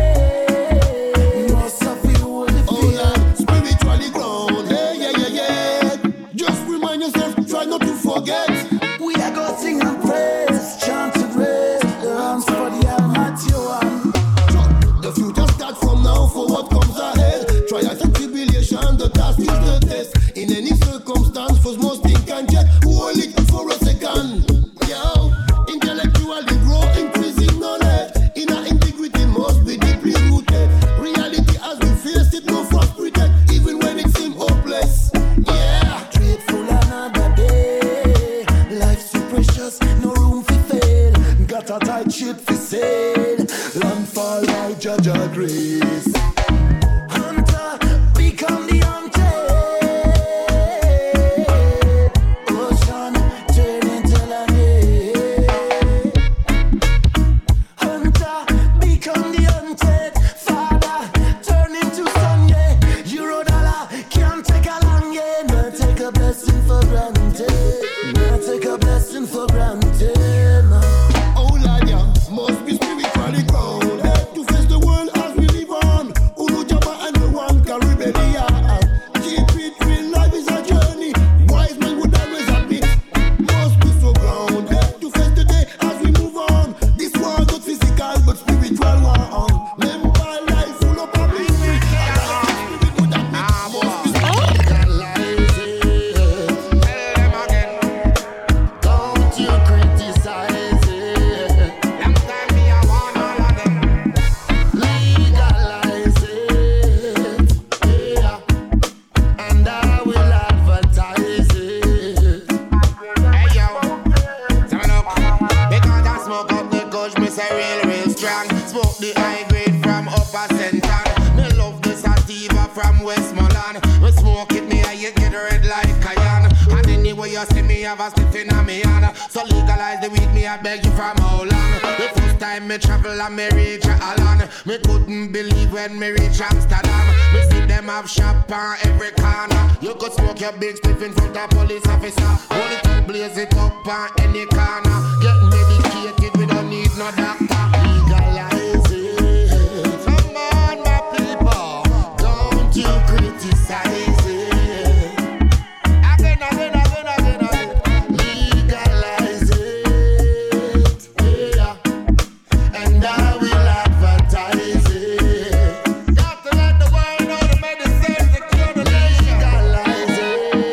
Must have feel holy fear. Spiritually grounded. Yeah. Just remind yourself, try not to forget. We are going to sing and praise, chant and raise the hands for the Almighty One. The future starts from now for what comes ahead. Trials and tribulation, the task is the test. In any circumstance, for small a blessing for granted. Nah, take a blessing for granted. Nah. Oh Lord, yeah, must be spiritually grounded to face the world as we live on. Ulu Jama and the one Caribbean. Keep it real, life is a journey. Wise men would always admit. Must be so grounded to face the day as we move on. This war not physical but spiritual war on. Remember life full of mystery. Don't you criticize it. Long time me I want all of them. Legalize it, yeah, and I will advertise it. Hey yo, say me look, because I smoke up the kush, me say real strong. Smoke the high grade from Upper Central. Me love the sativa from Westmoreland. Me smoke it, me I get red like cayenne. And anyway you see me have a stiff in a me hand. So legalize the weed, me I beg you from how long? The first time me travel and me reach Holland, me couldn't believe when me reach Amsterdam. Me see them have shop on every corner. You could smoke your big spliff in front of police officer. Hold it up, blaze it up on any corner. Get medicated, we don't need no doctor. Legalize it. Come on, my people. Don't you criticize it. Again. Legalize it, yeah, and I will advertise it. Got to let the world know the medicine to cure the nation. Legalize it,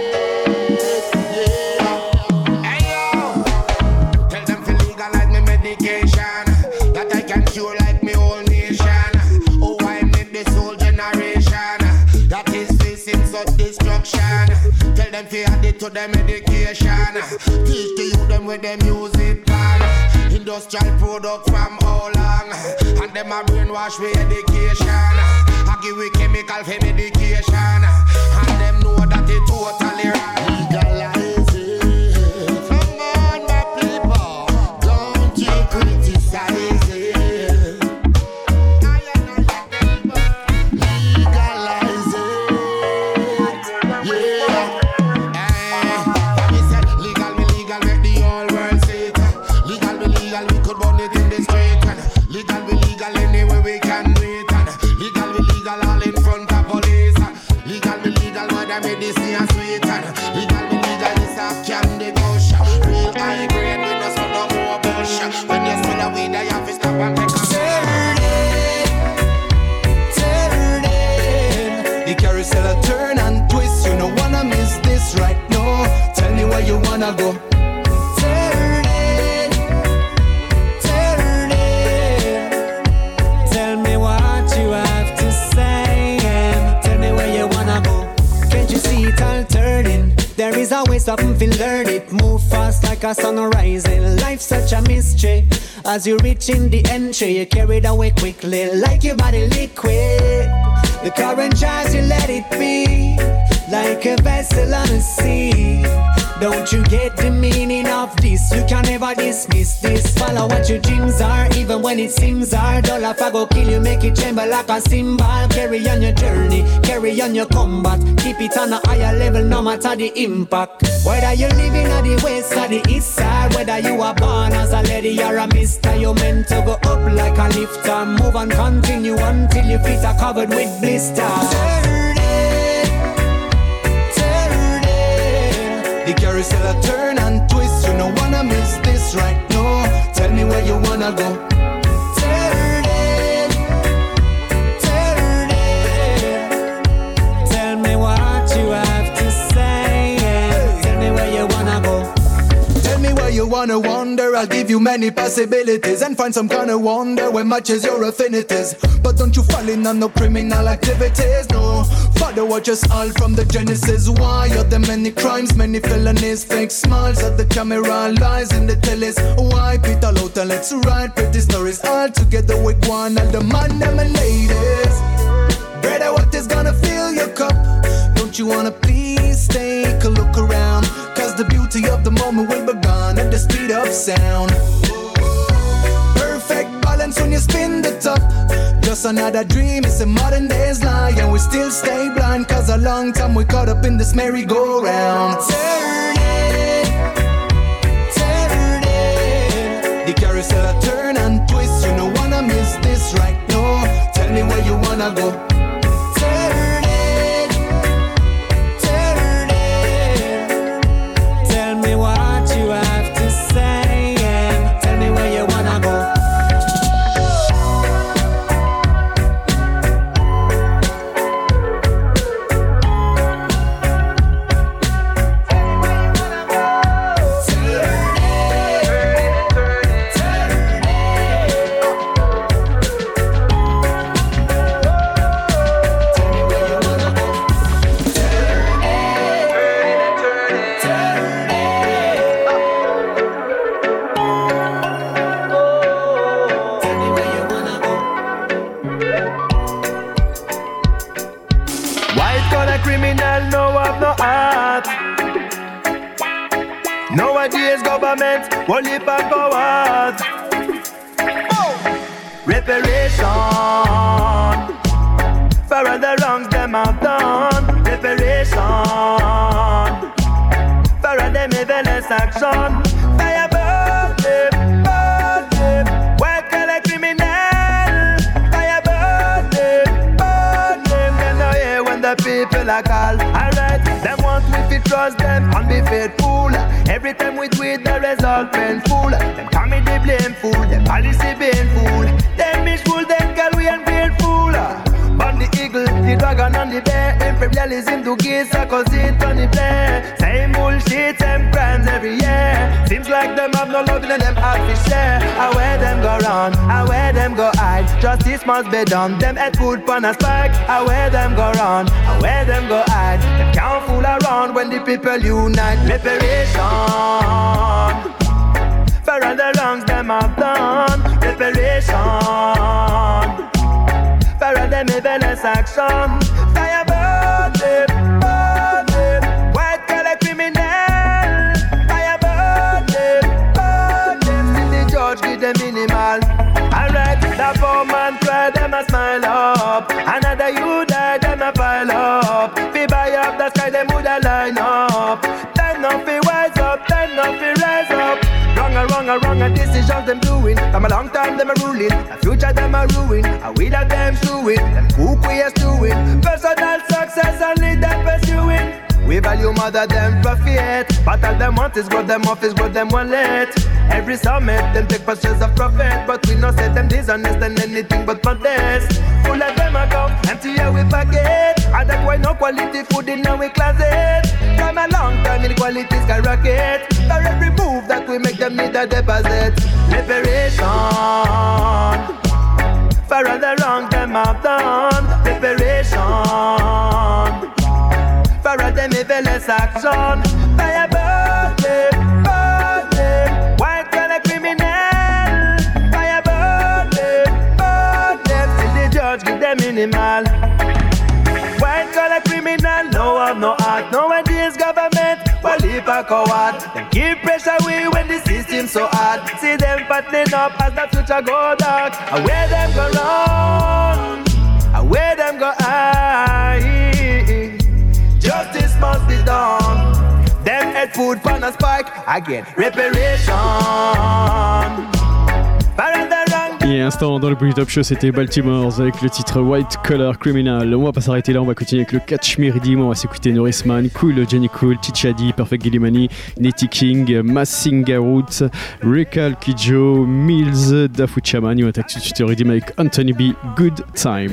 yeah. Hey yo, tell them to legalize me medication that I can cure like me whole nation. Oh, I made this whole generation that is facing such destruction. Tell them to add it to their medication. Teach the youth them with their music plan. Industrial product from how long? And them a brainwash with education. I give we chemical for medication. And them know that it totally wrong. Legalize it. Come on, my people. Don't you criticize it. Legalize it, yeah. Me say legal, me legal, make the whole world see it. Legal, me legal, we could burn it in the street. And legal, we legal, anywhere we can do it. And legal, we legal, all in front of police. Legal, me legal, what I made this thing sweet. And legal, me legal, this a candy gush. Real high grade, we no smoke no more bush. When you smell a weed, I have to stop and take a Turn it. The carousel a turn and twist. You don't wanna miss this right now. Tell me where you wanna go. Turn it. Tell me what you have to say. Tell me where you wanna go. Can't you see it all turning? There is a way something feel learn it. Move fast like a sun rising. Life's such a mystery. As you reach in the entry, you carry it away quickly, like your body liquid. The current drives you, let it be, like a vessel on the sea. Don't you get the meaning of this? You can never dismiss this. Follow what your dreams are, even when it seems hard. All if I go kill you, make it tremble like a cymbal. Carry on your journey, carry on your combat. Keep it on a higher level, no matter the impact. Whether you're living at the west or the east side, whether you are born as a lady or a mister, you're meant to go up like a lifter. Move and continue until your feet are covered with blisters. Turn it. The carousel a turn and twist. You don't wanna miss this right now. Tell me where you wanna go. Turn it. Tell me what you have to say. Tell me where you wanna go. Tell me where you wanna wander. I'll give you many possibilities and find some kind of wonder when matches your affinities. But don't you fall in on no criminal activities, no. Father, watch us all from the genesis. Why are there many crimes, many felonies? Fake smiles at the camera, lies in the tellies. Why Peter out and let's write pretty stories all together with one and the man them and ladies. Brother, what is gonna fill your cup? Don't you wanna please take a look around? Cause the beauty of the moment will be gone at the speed of sound. Perfect balance when you spin the top. Just just another dream, it's a modern day's lie. And we still stay blind, cause a long time we caught up in this merry-go-round. Turn it, the carousel turn and twist. You don't wanna miss this right now. Tell me where you wanna go. Turn it, tell me what you have to say, and tell me where you wanna go. Nowadays government only back forward. Reparation for all the wrongs them have done. Reparation for all them evilest action. Fire burn them, white collar criminal. Fire burn them. Them no hear when the people are called. Alright, them want we to trust them and be faithful. Every time we do it, the result painful. Them comedy blameful, them policy painful. Them mishful, them girl we ungrateful. But the eagle, the dragon and the bear, imperialism to give cause it on the play. Same bullshit, same crimes every year. Seems like them have no love in them heart to share. I where them go round, I where them go hide. Justice must be done, them head food pan a spike. I where them go round, I where them go hide. Them can't fool around when the people unite. Reparation for all the wrongs them have done. Reparation for all them evilest action. Fire burn them, white collar criminal. Fire burn them, till the judge give them minimal. Alright, the poor man cry, them a smile up. Another you die, them a pile up. Fi buy up the sky, them woulda line up. Time now fi wise up, time now fi rise up. Wrong decisions them doing. From a long time them a ruling. The future them a ruin. And we that them doing. Them cook we is doing. Personal success only them pursuing. We value more than them profit. But all them want is grow them office, grow them wallet. Every summit them take pictures of profit. But we no say them dishonest and anything but modest. Full of them a go, empty here we forget. And that's why no quality food in our closet. From a long time inequality skyrocket. For every move that we make them need a deposit. Liberation for all the wrong them have done. Liberation for all them evilest action. Fire burn them, white collar criminal. Fire burn them, till the judge give them minimal. White collar criminal, no have no heart. Nowadays government, well if a coward. Them keep pressure we when the system so hard. See them fattening up as the future go dark. And where them go wrong, and where them go high. Justice must be done. Them head food pan a spike again. Reparation. Et à l'instant dans le Bully Top Show, c'était Baltimore avec le titre White Collar Criminal. On va pas s'arrêter là, on va continuer avec le Catch Me Redeem. On va s'écouter Norrisman, Cool, Jenny Cool, Tichadi, Perfect Gillimani, Nettie King, Massinga Roots, Rekal Kijo, Mills, Dafu Chaman. On attaque tout de suite le Redeem avec Anthony B, Good Time.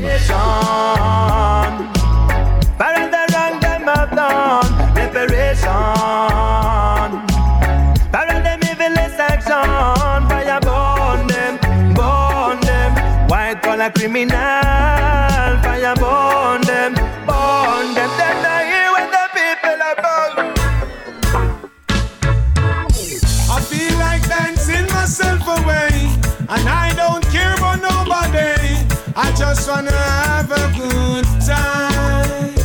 Criminal, fire burn them. Them not here when the people are born. I feel like dancing myself away, and I don't care about nobody. I just wanna have a good time.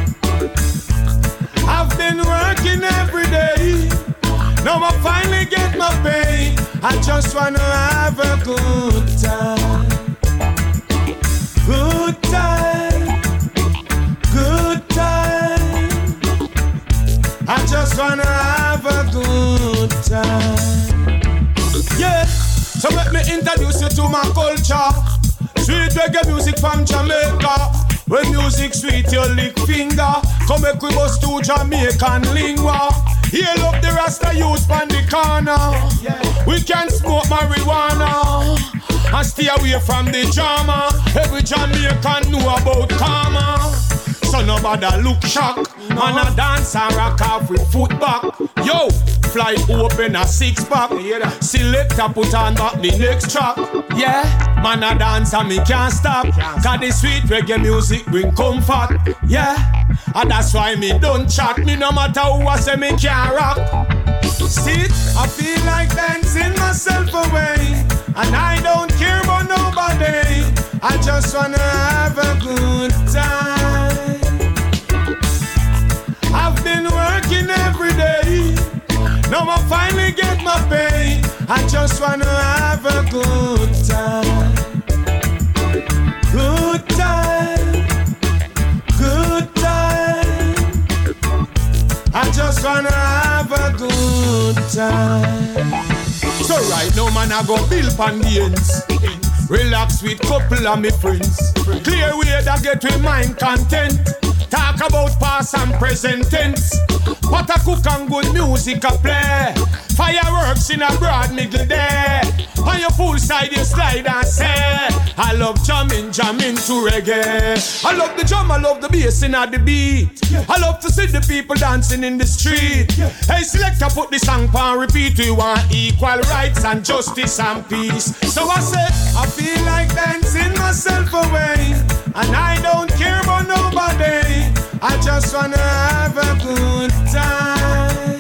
I've been working every day, now I finally get my pay. I just wanna have a good time. Good time, good time. I just wanna have a good time. Yeah, so let me introduce you to my culture. Sweet reggae music from Jamaica. When music sweet, you lick finger. Come make we bust to Jamaican lingua. Heal up the Rasta youth on the corner. We can smoke marijuana and stay away from the drama. Every Jamaican know about karma. So nobody look shock. Man a dance and rock off with foot back. Yo, fly open a six pack. Selector put on back the next track. Yeah, man a dance and me can't stop. Cause the sweet reggae music bring comfort. Yeah, and that's why me don't chat. Me no matter who I say me can't rock. See, I feel like dancing myself away. And I don't care about nobody. I just wanna have a good time. I've been working every day. Now I finally get my pay. I just wanna have a good time. Good time. Good time. I just wanna have a good time. So right now man I go build pan the ends. Relax with couple of me friends. Clear way that get with mind content. Talk about past and present tense. Pot a cook and good music a play. Fireworks in a broad middle day. On your pool side you slide and say I love jamming to reggae. I love the drum, I love the bass in the beat. I love to see the people dancing in the street. Hey selector, put the song on repeat. We want equal rights and justice and peace. So I say I feel like dancing myself away. And I don't care about nobody. I just wanna have a good time.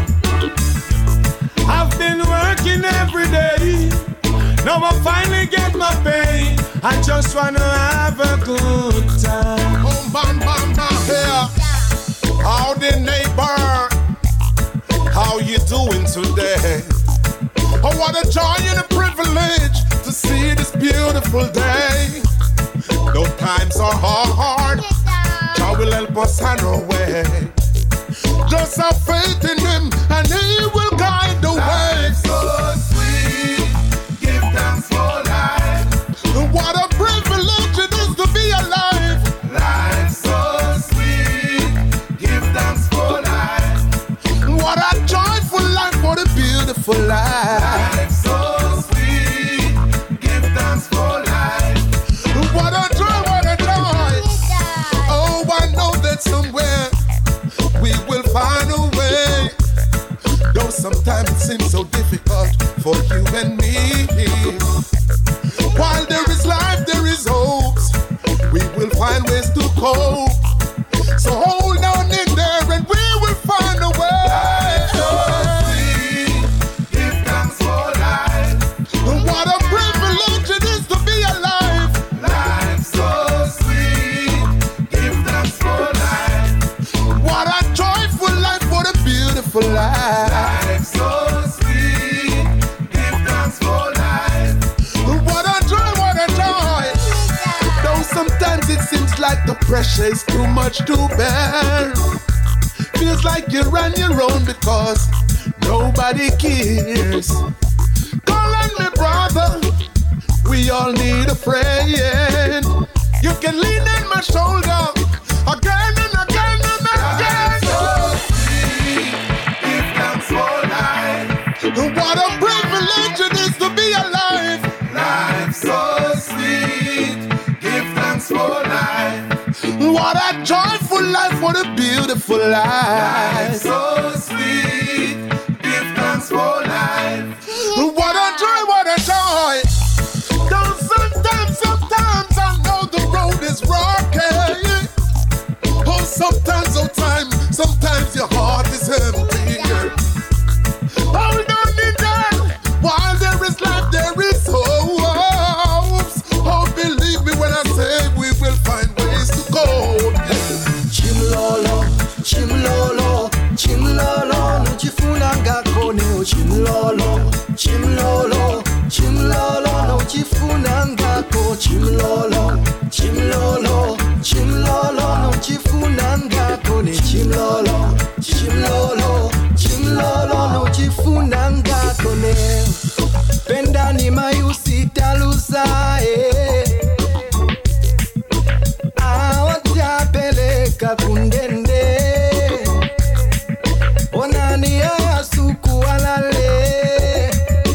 I've been working every day. Now I finally get my pay. I just wanna have a good time. Boom, bam, bam, bam, here. Howdy, neighbor. How you doing today? Oh, what a joy and a privilege to see this beautiful day. Though times are hard, God will help us on our way. Just have faith in Him, and He will guide the way. Life's so sweet, give thanks for life. What a privilege it is to be alive. Life's so sweet, give thanks for life. What a joyful life, what a beautiful life. Life's so sweet, give thanks for life. What a joy, what a joy. Oh, I know that somewhere we will find a way. Though sometimes it seems so difficult for you and me. While there is life, there is hopes. We will find ways to cope. So hold on in there and we will find a way. Life's so sweet, give thanks for life. What a privilege it is to be alive. Life's so sweet, give thanks for life. What a joyful life, what a beautiful life. Life's so sweet, give thanks for life. What a joy, what a joy. Though sometimes it seems like the pressure is too much to bear. Feels like you're on your own because nobody cares. Call on me, brother. We all need a friend. You can lean on my shoulder again and again and again. So sweet, give thanks for life. What a privilege it is to be alive. Life's so sweet, give thanks for life. What a joyful life, what a beautiful life. Life's so sweet, give thanks for life. What a joy, what a joy. Though sometimes I know the road is rocky. Oh, sometimes your heart is empty. Hold on in there. While there is life, there is hope. Oh, believe me when I say we will find ways to go. Chimlolo, chimlolo, chimlolo, no chifunanga kone, chimlolo, chimlolo, chimlolo, no chifunanga ko, chimlolo, chimlolo. chimlolo, chimlolo, nuchifuna ngako ne chimlolo, chimlolo, chimlolo, nuchifuna ngako ne. Pendani mayusitaluza awatapeleka kundende onani ayasuku alale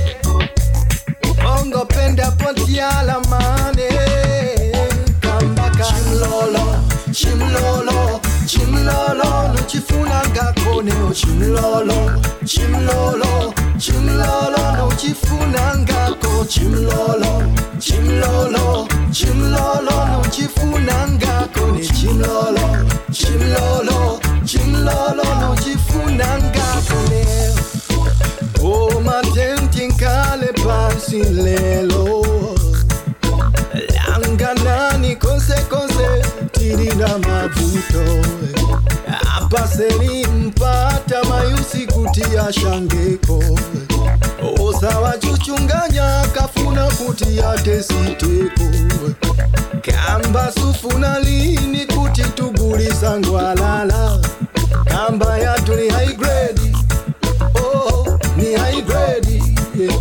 ongo penda pontiala mane kambaka chimlolo, chimlolo, chimlolo, nuchifuna ngako neo chimlolo, chimlolo, chimlolo, nuchifuna ngako chimlolo, chimlolo, chimlolo, nuchifuna ngako ne chimlolo, chimlolo, chimlolo, nuchifuna ngako ne. Oh matentinkale pansi lelo langanani kose tirina mavuto apaseni mpata mayusi kutia shangeko osawa chuchunganya kafuna kutia tesiteko kamba sufuna lini kuti tugulisa ngwalala kamba yatu ni high grade, oh ni high grade, yeah.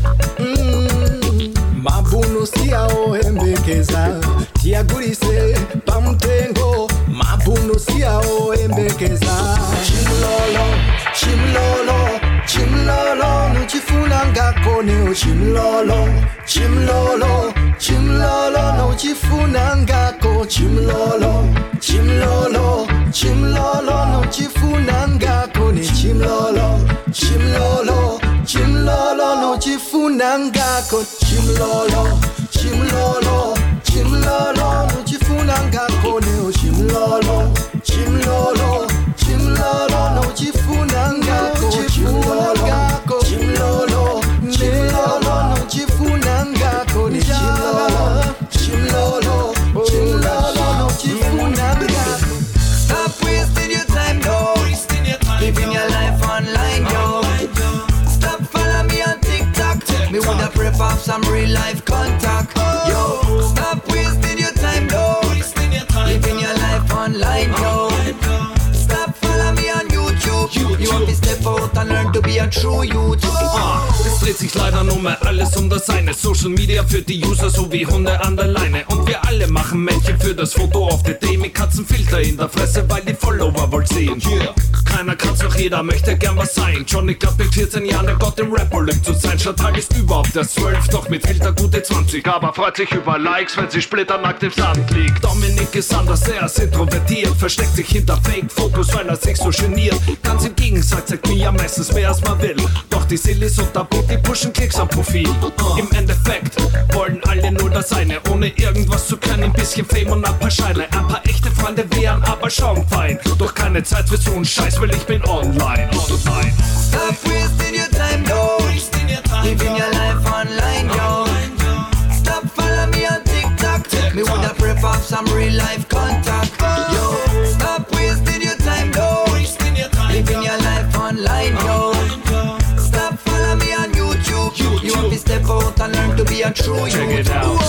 Mabuno siao embekeza tiagulise pamtengo mabuno siao embekeza chimlolo, chimlolo, chimlolo, nuchifuna ngako neo chimlolo, chimlolo, chimlolo, nuchifuna ngako chimlolo, chimlolo, chimlolo, nuchifuna ngako ne chimlolo, chimlolo, chimlolo, nuchifuna ngako chimlolo, chimlolo, chimlolo, nuchifuna ngako neo chimlolo, chimlolo, chimlolo, nuchifuna ngako chimlolo, chimlolo, chimlolo, nuchifuna ngako ne chimlolo, chimlolo, chimlolo, nuchifuna ngako. Stop wasting your time, no. Living your life online, yo. Stop follow me on TikTok. Me woulda prep off some real life contact, yo. Stop wasting your time, no. Living your life online, yo. Stop follow me on YouTube. You want to step out and learn to be a true youth. Es dreht sich leider nur mehr alles um das eine. Social Media für die User so wie Hunde an der Leine. Und wir alle machen Männchen für das Foto auf der Day mit Katzenfilter in der Fresse, weil die Follower wollen sehen. Yeah. Keiner kann's, doch jeder möchte gern was sein. Johnny glaubt mit 14 Jahren, er Gott im Rap-Olymp zu sein. Chantal ist überhaupt erst 12, doch mit Filter gute 20. Aber freut sich über Likes, wenn sie splitternackt im Sand liegt. Dominik ist anders, er ist introvertiert. Versteckt sich hinter Fake-Fotos, weil er sich so geniert. Ganz im Gegensatz sagt mir ja meistens mehr als man will. Doch die Sillis und der Boot, die pushen Klicks am Profil. Im Endeffekt wollen alle nur das eine, ohne irgendwas zu können. Ein bisschen Fame und ein paar Scheine. Ein paar echte Freunde wären aber schon fein. Doch keine Zeit für so einen Scheiß, weil ich bin online. Stop wasting your time, no. Living your life online, yo. Stop follow me on TikTok. Me woulda prep off some real life contact, yo. Stop wasting your time, no. Living your life online, yo. Stop follow me on YouTube. You want to step out and learn to be a true youth.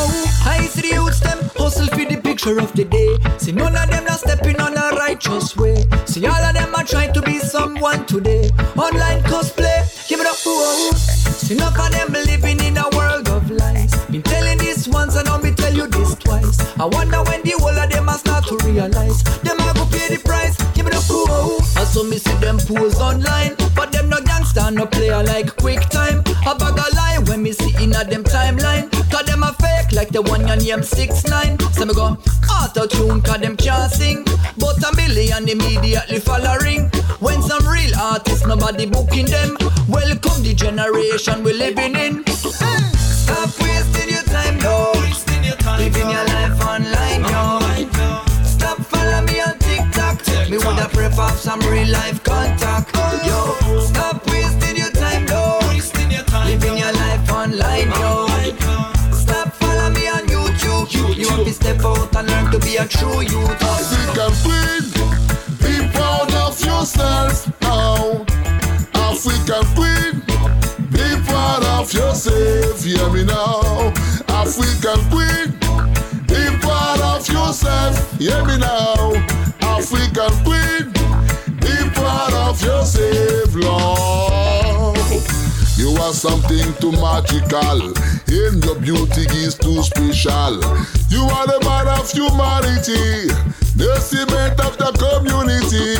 I see the youths them hustle for the picture of the day. See none of them not stepping on a righteous way. See all of them are trying to be someone today. Online cosplay, give it up. See none of them living in a world of lies. Been telling this once and now me tell you this twice. I wonder when the whole of them are start to realize them are go pay the price. Give it up. I saw me see them pose online, but them no gangster, no player like Quick Time. A bag of lie when me see in a them timeline. Cause them a fake like the one your name 6ix9ine. So me go auto-tune cause them can't sing, but a million immediately following. When some real artists nobody booking them. Welcome the generation we living in. Stop wasting your time, no. Living your life online, yo. Stop follow me on TikTok. Me woulda prep off some real life contact, yo. Stop wasting your time, no. Living your life online, yo. Stop follow me on YouTube. You want to step out and learn to be a true youth. African queen, be proud of yourself now. African queen, be proud of yourself. Hear me now. African queen, be proud of of yourself. Hear me now, African queen. Be proud of yourself, Lord. You are something too magical. In your beauty is too special. You are the man of humanity, the cement of the community.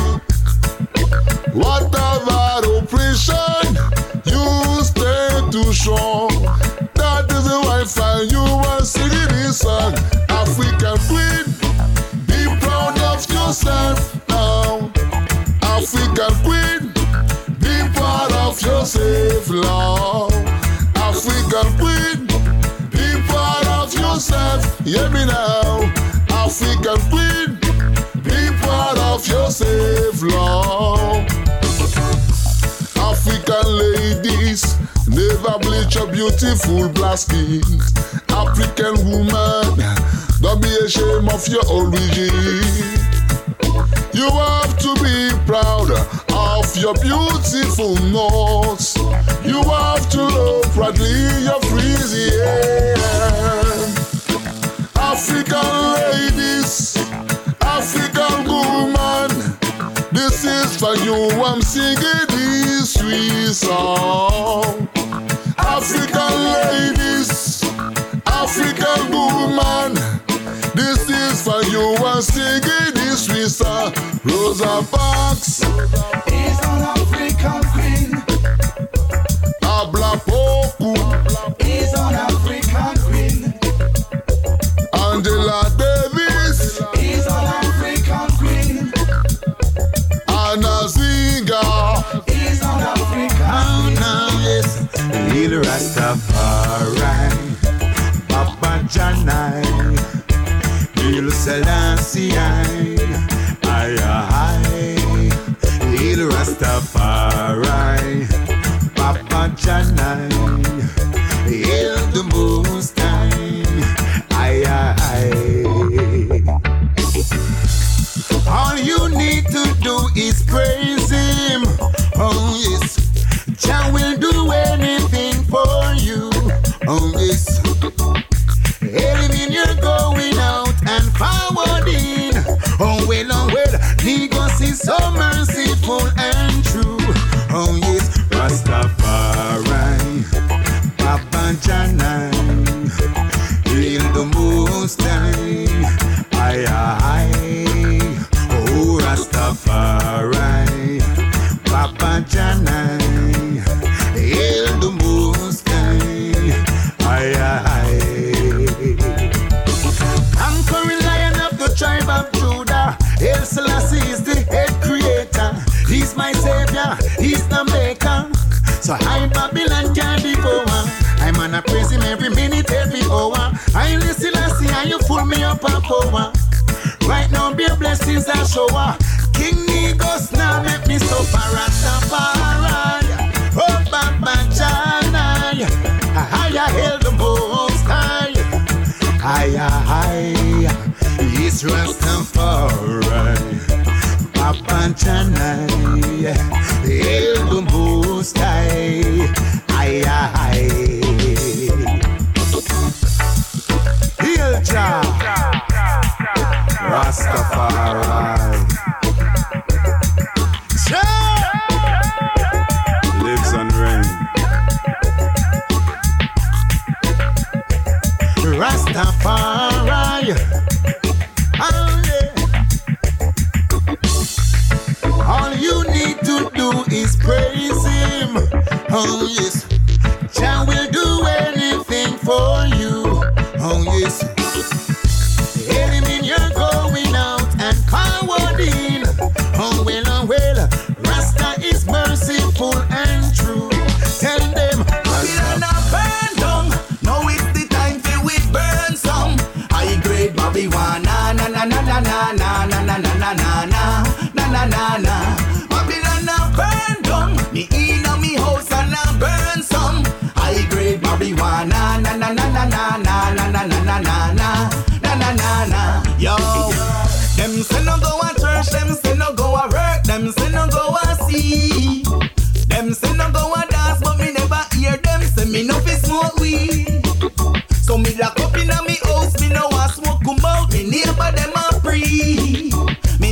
Whatever oppression, you stay too strong. That is the why you are singing this song. African queen, be proud of yourself now. African queen, be proud of yourself, Lord. African queen, be proud of yourself. Hear me now. African queen, be proud of yourself, Lord. African ladies, never bleach your beautiful black skin. African woman, don't be ashamed of your origin. You have to be proud of your beautiful nose. You have to love proudly your Frisian. African ladies, African woman, this is for you. I'm singing this sweet song. African ladies, African woman, this is for you. I'm singing this sweet song. Rosa Parks is an African queen. Abla Poku is an African queen. Angela Davis is an African queen. Anna Zinga is an African queen. Yes, Lil Rastafari, Papa Janai, Lil Selassie, Lil Rastafari, Papa Janai, Hail the Most High, All you need to do is praise Him. Oh yes, Jah will do anything for you. Oh yes, hail Him in your going out and forward in. Oh well, He goes is so merciful and true. Oh yes, Rastafari, Papa Janai, Hail the Most High, Oh Rastafari, Papa Janai, Hail the Most High, Conquering Lion of the tribe of Judah, Hail Selassie is the head creator. He's my savior, he's the maker. So high Babylon can't devour. I'm gonna praise Him every minute, every hour. I listen, Selassie, and you fool me up a power. Right now, be a blessings that shower. King Negos now make me suffer. Rastafari, oh Baba Janai, I hail the Most High. Yes, Rastafari, Papa Janai, hail the Most High. Hail Jah, Rastafari. Lives and reigns. Rastafari. Oh, yeah. All you need to do is praise Him. Oh yes, Jah will do anything for you. Oh yes, hail Him in your going out and forward in. Oh well, Rasta is merciful and true. Tell them, Babylon a burn down. Now it's the time for we burn some. High grade marijuana, na na na na na na na na na na na na na na. Babylon a burn down. Me inna me house and a burn some. High grade marijuana, na na na na na na na na na na na na na na. Yo, them say no go a church, them say no go a work, them say no go a see. Them say no go a dance, but me never hear them say me no fi smoke weed. So me lock up inna me house, me no want smoke come out. Me neighbor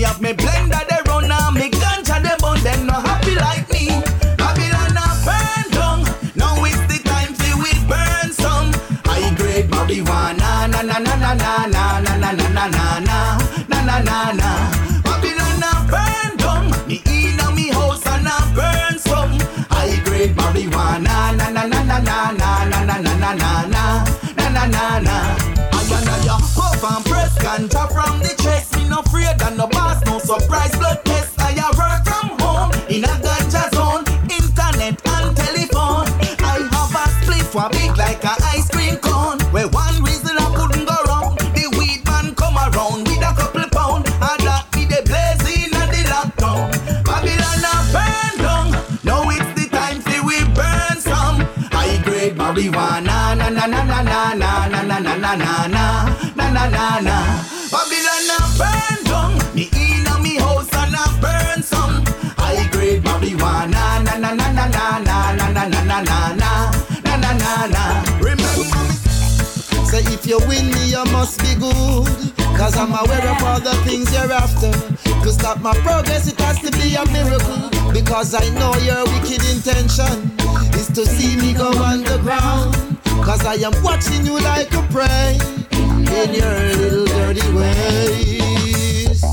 have me blender they run and me ganja they burn. Them not happy like me. Babylon a burn down. Now it's the time till we burn some high grade marijuana. Na na na na na na na na na na na na na na na. Babylon a burn down. Me inna me house and a burn some high grade marijuana. Na na na na na na na na na na na na na na. Ayana puff and press ganja from the chest. Me no afraid and no boss, no surprise blood test. I work from home in a ganja zone, internet and telephone. I have a spliff for big like a ice cream cone. Where one reason I couldn't go wrong, the weed man come around with a couple pound. I that me the blazing and the lockdown. Babylon a burn down. Now it's the time till we burn some high grade marijuana. Na na na na na na na na na na na na na na na. Babylon a burn down. Me inna me house and a burn some high grade marijuana. Na na na na na na na na na na na na na na na. Remember me. So if you win me, you must be good. Cause I'm aware of all the things you're after. To stop my progress, it has to be a miracle. Because I know your wicked intention is to see me go underground. Cause I am watching you like a prey in your little dirty ways.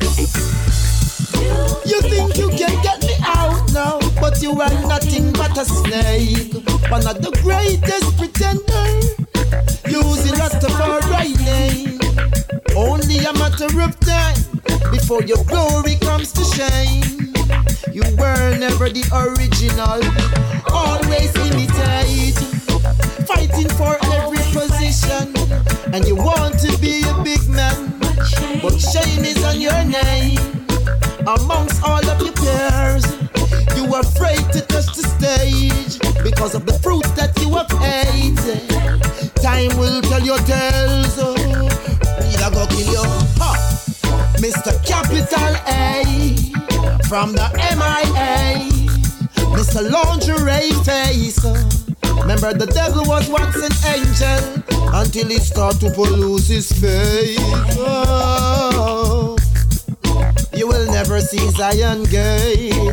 You think you can get me out now, but you are nothing but a snake. One of the greatest pretenders, using Rastafari name. Only a matter of time before your glory comes to shame. You were never the original, always imitate, fighting for every position. And you want to be a big man, but shame is on your name. Amongst all of your peers, you are afraid to touch the stage because of the fruit that you have ate. Time will tell your tales. Need I go kill you? Mr. Capital A from the MIA, Mr. Lingerie Face. Remember the devil was once an angel until he started to lose his faith. Oh, you will never see Zion Gate.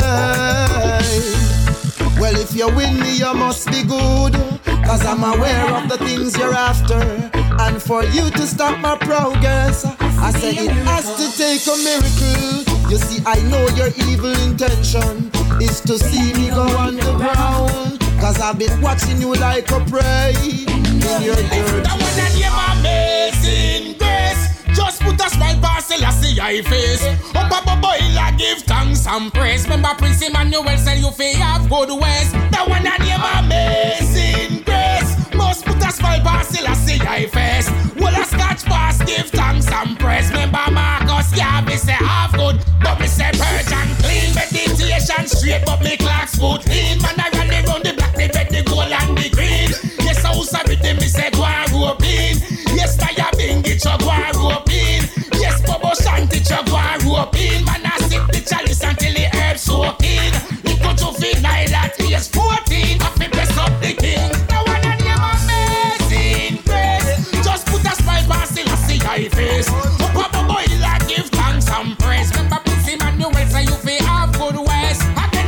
Hey. Well, if you win me, you must be good. Cause I'm aware of the things you're after. And for you to stop my progress, I say it has to take a miracle. You see, I know your evil intention is to see me go underground. Cause I've been watching you like a prey in your dirt. That one that name Amazing Grace. Just put a smile past Selassie I face. Up a boil I give thanks and praise. Remember Prince Emmanuel said you feel have good ways. That one that name Amazing Grace. Must put a smile past Selassie I face. Well a scotch pass give thanks and praise. Remember Marcus Garvey say half good, but me say purge and clean. Meditation straight but me clocks foot clean. Man I rally round the black, the red, the gold and the green. Yes I was a bit me say go and rope in. Yes I have been get your go and rope in. Yes Bobo Shanty your go and rope in. Man I sip the chalice until the herb soak in. It go to final at age 14. I fi press up the king. Now one and name Amazing Grace. Just put a smile past Selassie I face. Up a boy like give thanks and praise. Remember Prince Emmanuel say you fi have good ways. Again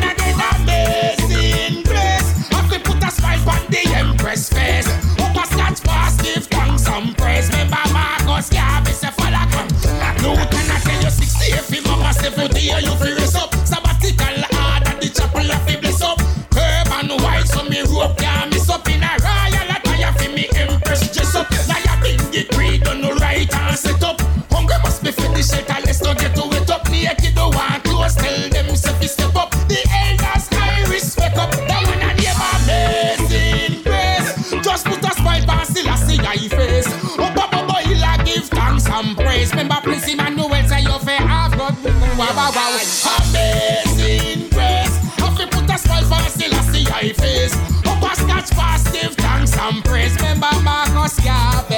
Amazing Grace. I fi put a smile on the Empress face. Up a scotch pass give thanks and praise. Remember Marcus Garvey say follow come. No can I tell you 60 if you mama 70 you fi raise up. Sabbatical hard at the chapel of fi bless up. Curb and white so me rope can't miss up. In a royal attire fi me Empress dress up. Now you been the creed on the right and set up. Hungry must be for the shelter, let's not get to it up. Naked don't want close, tell them say fi step up. The elders I respect up. That one a name Amazing Grace. Just put a smile past Selassie I face. Up a boy I give thanks and praise. Remember Prince Emmanuel say you fi have God. Wow wow wow. Amazing Grace. Have to put a smile past Selassie I face. Up a scotch pass give thanks and praise. Remember Marcus Garvey.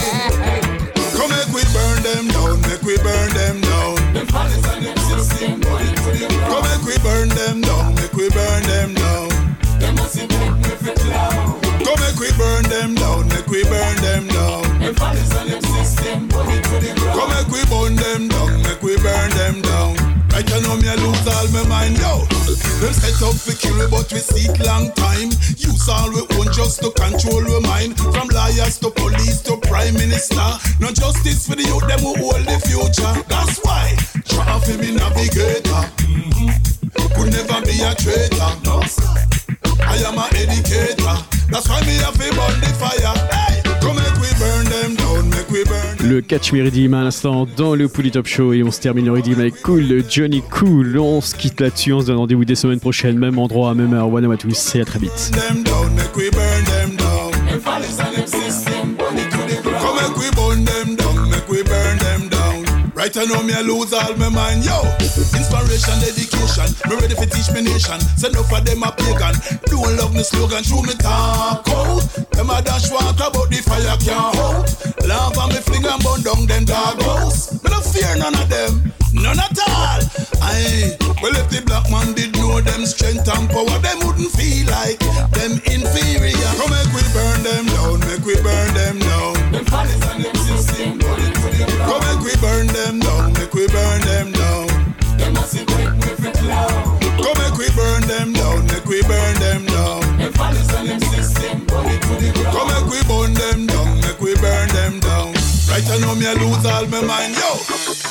Come make we burn them down, make we burn them down. Them palace and them system, come make we burn them down, make we burn them down. Them must make me fit loud. Come make we burn them down, make we burn them down. The follies and them system, burn it to the ground. Come make we burn them down, make we burn them down. Right now me I lose all my mind, yo. Them set up for kill we but we seek long time. Use all we own just to control we mind. From lawyers to police to prime minister. No justice for the youth, them who hold the future. That's why, try for me navigator. Could never be a traitor, no sir. I am an educator. That's why me have to burn the fire. Hey, come make we burn them down, make we burn. Le catch me redeem à l'instant dans le Pouli Top Show et on se termine le redeem avec Cool de Johnny Cool. On se quitte là-dessus, on se donne rendez-vous des semaines prochaines, même endroit, même heure. One à tous et à très vite. Them down, make we burn them down. The follies and them system, burn it to the ground. Come make we burn them down, make we burn them down. Right now me I lose all my mind, yo. Inspiration, dedication, me ready for teach me nation. Send up for them a pagan. Don't love me slogan, through me talk out. Them a dash water but the fire can't hold. Love and me fling and burn down them dog house. Me no fear none of them, none at all. Aye, well if the black man did know them strength and power, them wouldn't feel like them inferior. Come make we burn them down, make we burn them down. The follies and them system, burn it to the ground. Come make we burn them down, make we burn them down. Them must be quick with it loud. Come make we burn them down, make we burn them down. The follies and them system, burn it to the ground. Come make we burn them down, make we burn them down. Right now me I lose all my mind, yo.